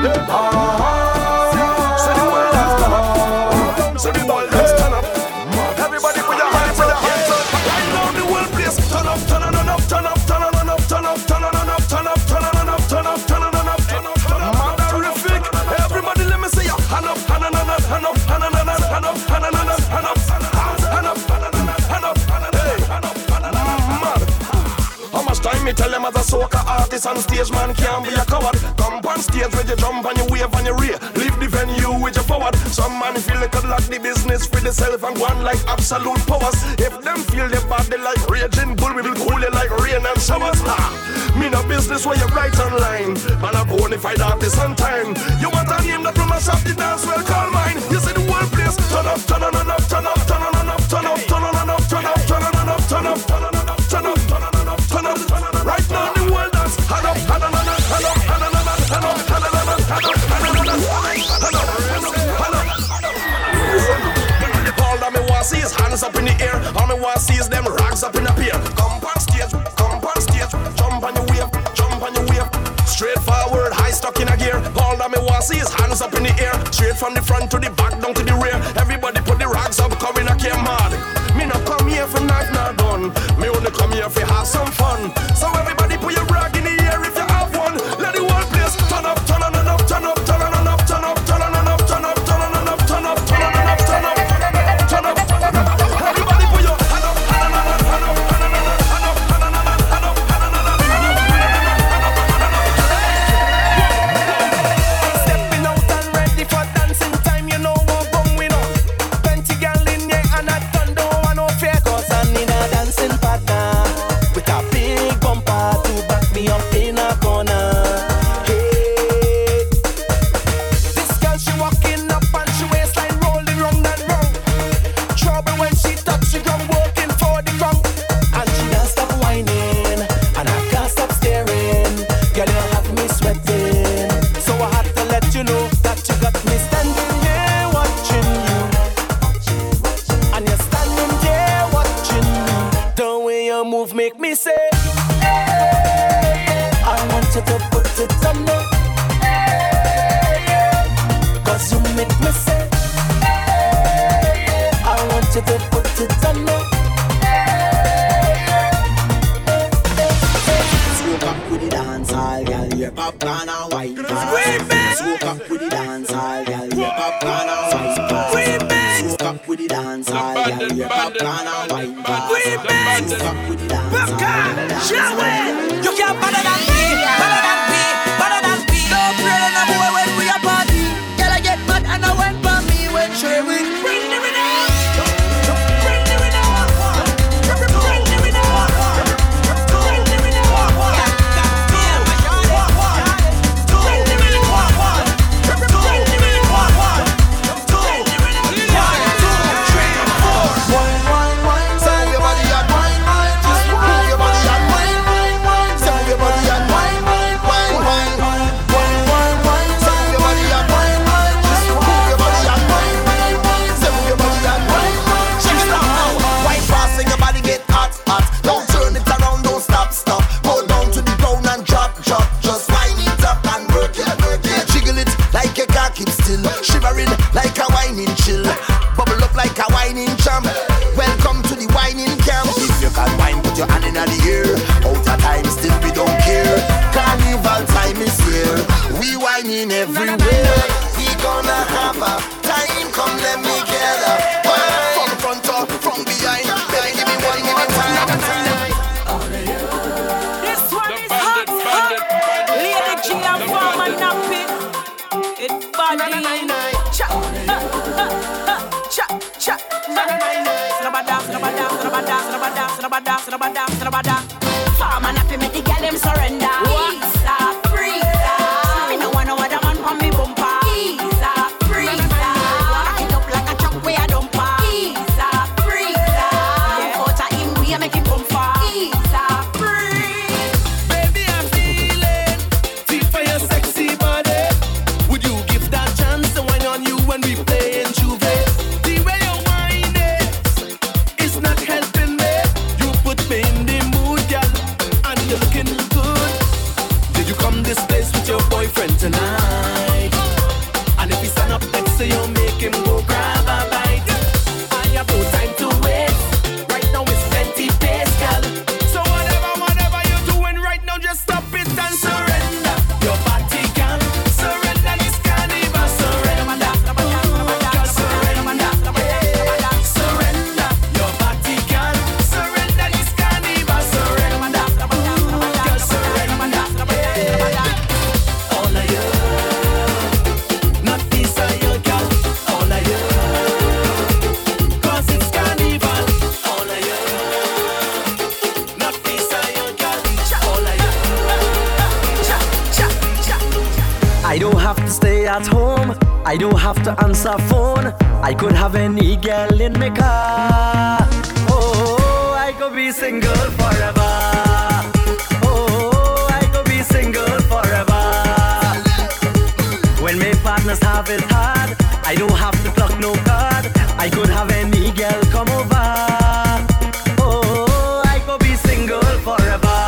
Say the world has stand up. Say the world has stand up. Everybody put your hands up. Right now the world place. Turn up, turn on up, turn up, turn on up, turn up, turn on up, turn up, turn on up, turn up, turn on up, turn up, turn up. Terrific. Everybody let me see you. Hand up, hand on up, hand up, hand on up, hand up, hand on up, hand up. Time me tell them as a soca artist on stage, man can't be a coward. Come on stage with your jump and your wave and your rear. Leave the venue with your forward. Some man feel they could lock the business for themselves and go on like absolute powers. If them feel their body like raging bull, we will cool it like rain and showers. Ha! Me no business where you write online. Man a bonafide artist on time. You want a name that will mash up the dance, well call mine. You see the whole place. Turn up, turn on and up, turn up, turn on and up, turn up, turn on and up, turn up, turn on and up, turn up, turn on and up, turn up, turn on and up, turn up. Right now the world dance. Hand up, hand on, hand up, hand up, hand on, hand up, hand up, hand on, hand up, hand up, hand up. All that me want see is hands up in the air. All me want see is them rags up in the pier. Come on stage, come on stage, jump on your wave, jump on your wave. Straight forward, high stuck in a gear. All that me want see is hands up in the air. Straight from the front to the back, down to the rear. Everybody put the rags up, come in a care mad. Me not come here for knife nor gun. Me only come here for have some fun. So everybody put your rag in the air if you have one. Let the whole place turn up, turn on and up, turn up, turn on and up, turn up, turn on and up, turn up, turn on and up, turn up, turn on and up, turn up, turn up, turn up. Everybody put your hand up, hand on and up, hand up, hand on and up, hand up, hand on and up, hand up, hand on and up, hand up, hand up. Stepping out and ready for dancing time. You know what going on. Plenty gal in there and I don't want no fear 'cause I need a dancing partner with a big bumper to back me up in a corner. Hey, this girl she walking up and she waistline rolling round and round. Trouble when she touch the ground, working for the ground, and she don't stop whining and I can't stop staring. Girl, you have me sweating, so I had to let you know that you got me standing here watching you, and you're standing there watching me. The way you move make me say, hey, I want you to put it on me, hey, 'cause you make me say, hey, I want you to put it on me. Smoke up with the dance hall, girl, your popcorn and wine fast. Smoke up with the dance hall, girl, your popcorn and wine fast. Smoke up with the dance hall, girl, your popcorn and wine fast. Smoke up with the dance hall. You can't better than me, better than me, better than me. Don't pray on a boy when we are party. Girl, I get mad and I went for me when she will bring the rhythm. Bring the rhythm. Bring the rhythm. Bring the rhythm. Bring the rhythm. Wine, wine, wine, tell your body and wine, wine. Just move your body and wine, wine, wine. Tell your body and wine, wine. freeway. We gonna have a time, come let me gather. From front or from behind, baby, give me one more time. This one is hot, hot. Lady G and Farmer Nappy. It's body. Cha, cha, cha. Snabada, snabada, snabada, snabada, snabada, snabada, snabada. Farmer Nappy make the girl them surrender. Freeza, freeza. Me no want no other man for me bumper. Freeza, freeza. Rock it up like a truck where I dumper. Freeza, freeza. Out of him we make him bumper. Freeza, freeze. Baby, I'm feeling deep for your sexy body. Would you give that chance to wine on you when we play in Juve? The way you whine it is not helping me. You put me in the mood, girl, and you're looking good. Did you come this place with your boyfriend tonight? And if he stand up next to you, make him go grab a bite. I have no time to waste. Right now it's plenty pace, girl. So whatever, whatever you're doing right now, just stop it and surrender. Your body can surrender this carnival. Surrender, girl, surrender. Surrender, your body can surrender this carnival. Surrender, girl, surrender. All of you, not this are your girl. All of you, 'cause it's carnival. All of you, not this are your girl. All of you. I don't have to stay at home. I don't have to answer phone. I could have any girl in my car. Oh, I could be single forever. Oh, I could be single forever. When my partners have it hard, I don't have to pluck no card. I could have any girl come over. Oh, I could be single forever.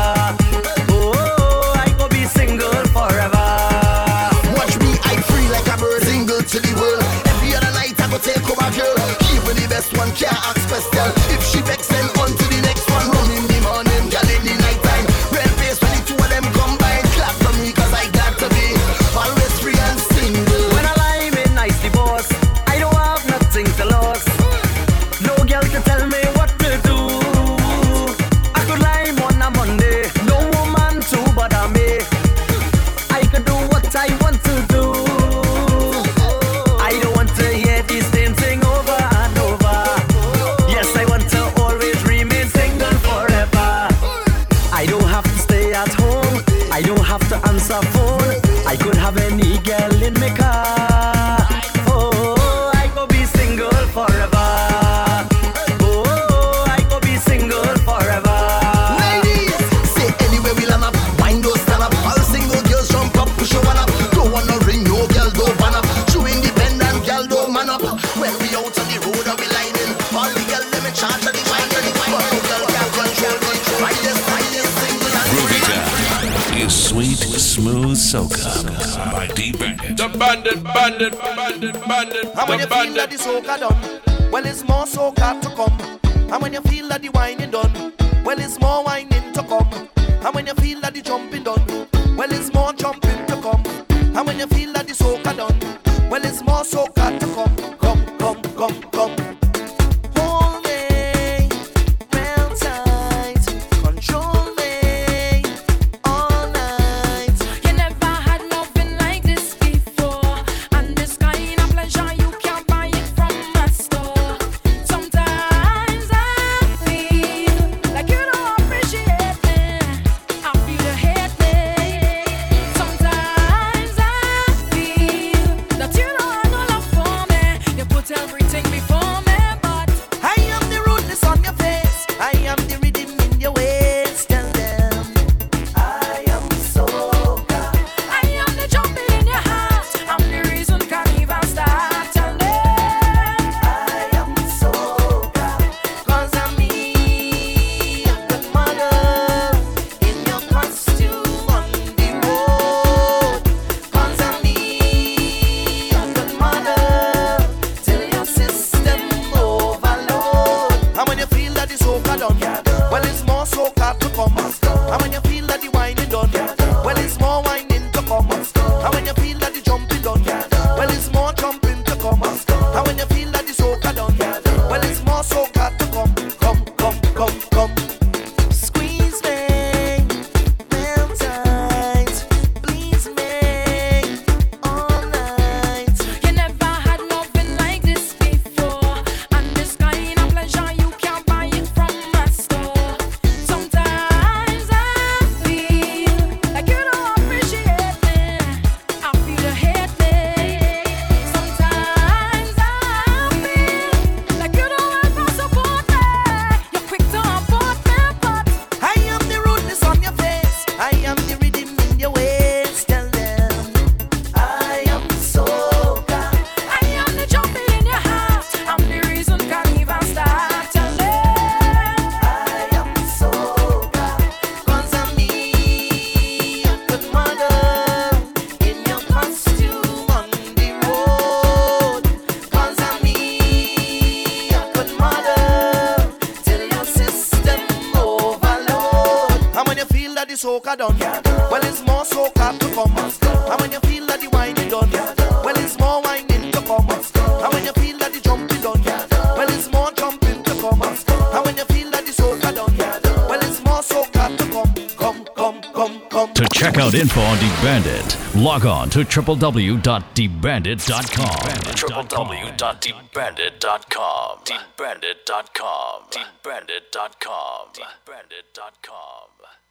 Oh, I could be single forever. Watch me, I free like a bird, single to the world. Every other night I go take over girl. Even the best one can't ask special. If she vex, then on to the next one. Run in the morning, girl in the night time. Red face when the two of them combine. Clap for me, 'cause I got to be always free and single. When I lie in nicely, boss, I don't have nothing to lose. No girl can tell me what to do. I could lie on a Monday, no woman to bother me. I could do what I want to do. I don't want to hear this same thing over and over. Yes, I want to always remain single forever. I don't have to stay at home. I don't have to answer phone. I could have any girl in my car. Oh, I could be single forever. Oh, I could be single forever. Ladies, say anywhere we land up, wind those stand up. All single girls jump up, push your one up. Don't want no ring, no girl, don't van up. True independent girl, don't man up. When we out on the road, and we lining. All the girls, them in charge of the wine, of the wine. But no girl can control me. Riders, riders, single and Groovy Time is Sweet Smooth Soca by D Bandit. The bandit, bandit, bandit, bandit. And when you feel that the soca done, well, it's more soca to come. And when you feel that the whining done, well, it's more whining to come. And when you feel that the jumping done, well, it's more jumping to come. And when you feel that the soca done, well, it's more soca to come. Come, come, come, come. Hold me real tight, control me all night. You never had nothing like this before, and this kind of pleasure you can't buy it from a store. Sometimes I feel like you don't appreciate me. I feel you hate me. Sometimes I feel that you don't have no love for me. You put everything before me. that the soca done, well it's more soca to come. And when you feel that the wine is done, well it's more whining to come. And when you feel that the jumping done, well it's more jumping to come. And when you feel that the soca done, well it's more soca to come. Come, come, come, come. To check out info on D Bandit, log on to w w w dot d bandit dot com. w w w dot d bandit dot com. d bandit dot com. d bandit dot com. d bandit dot com.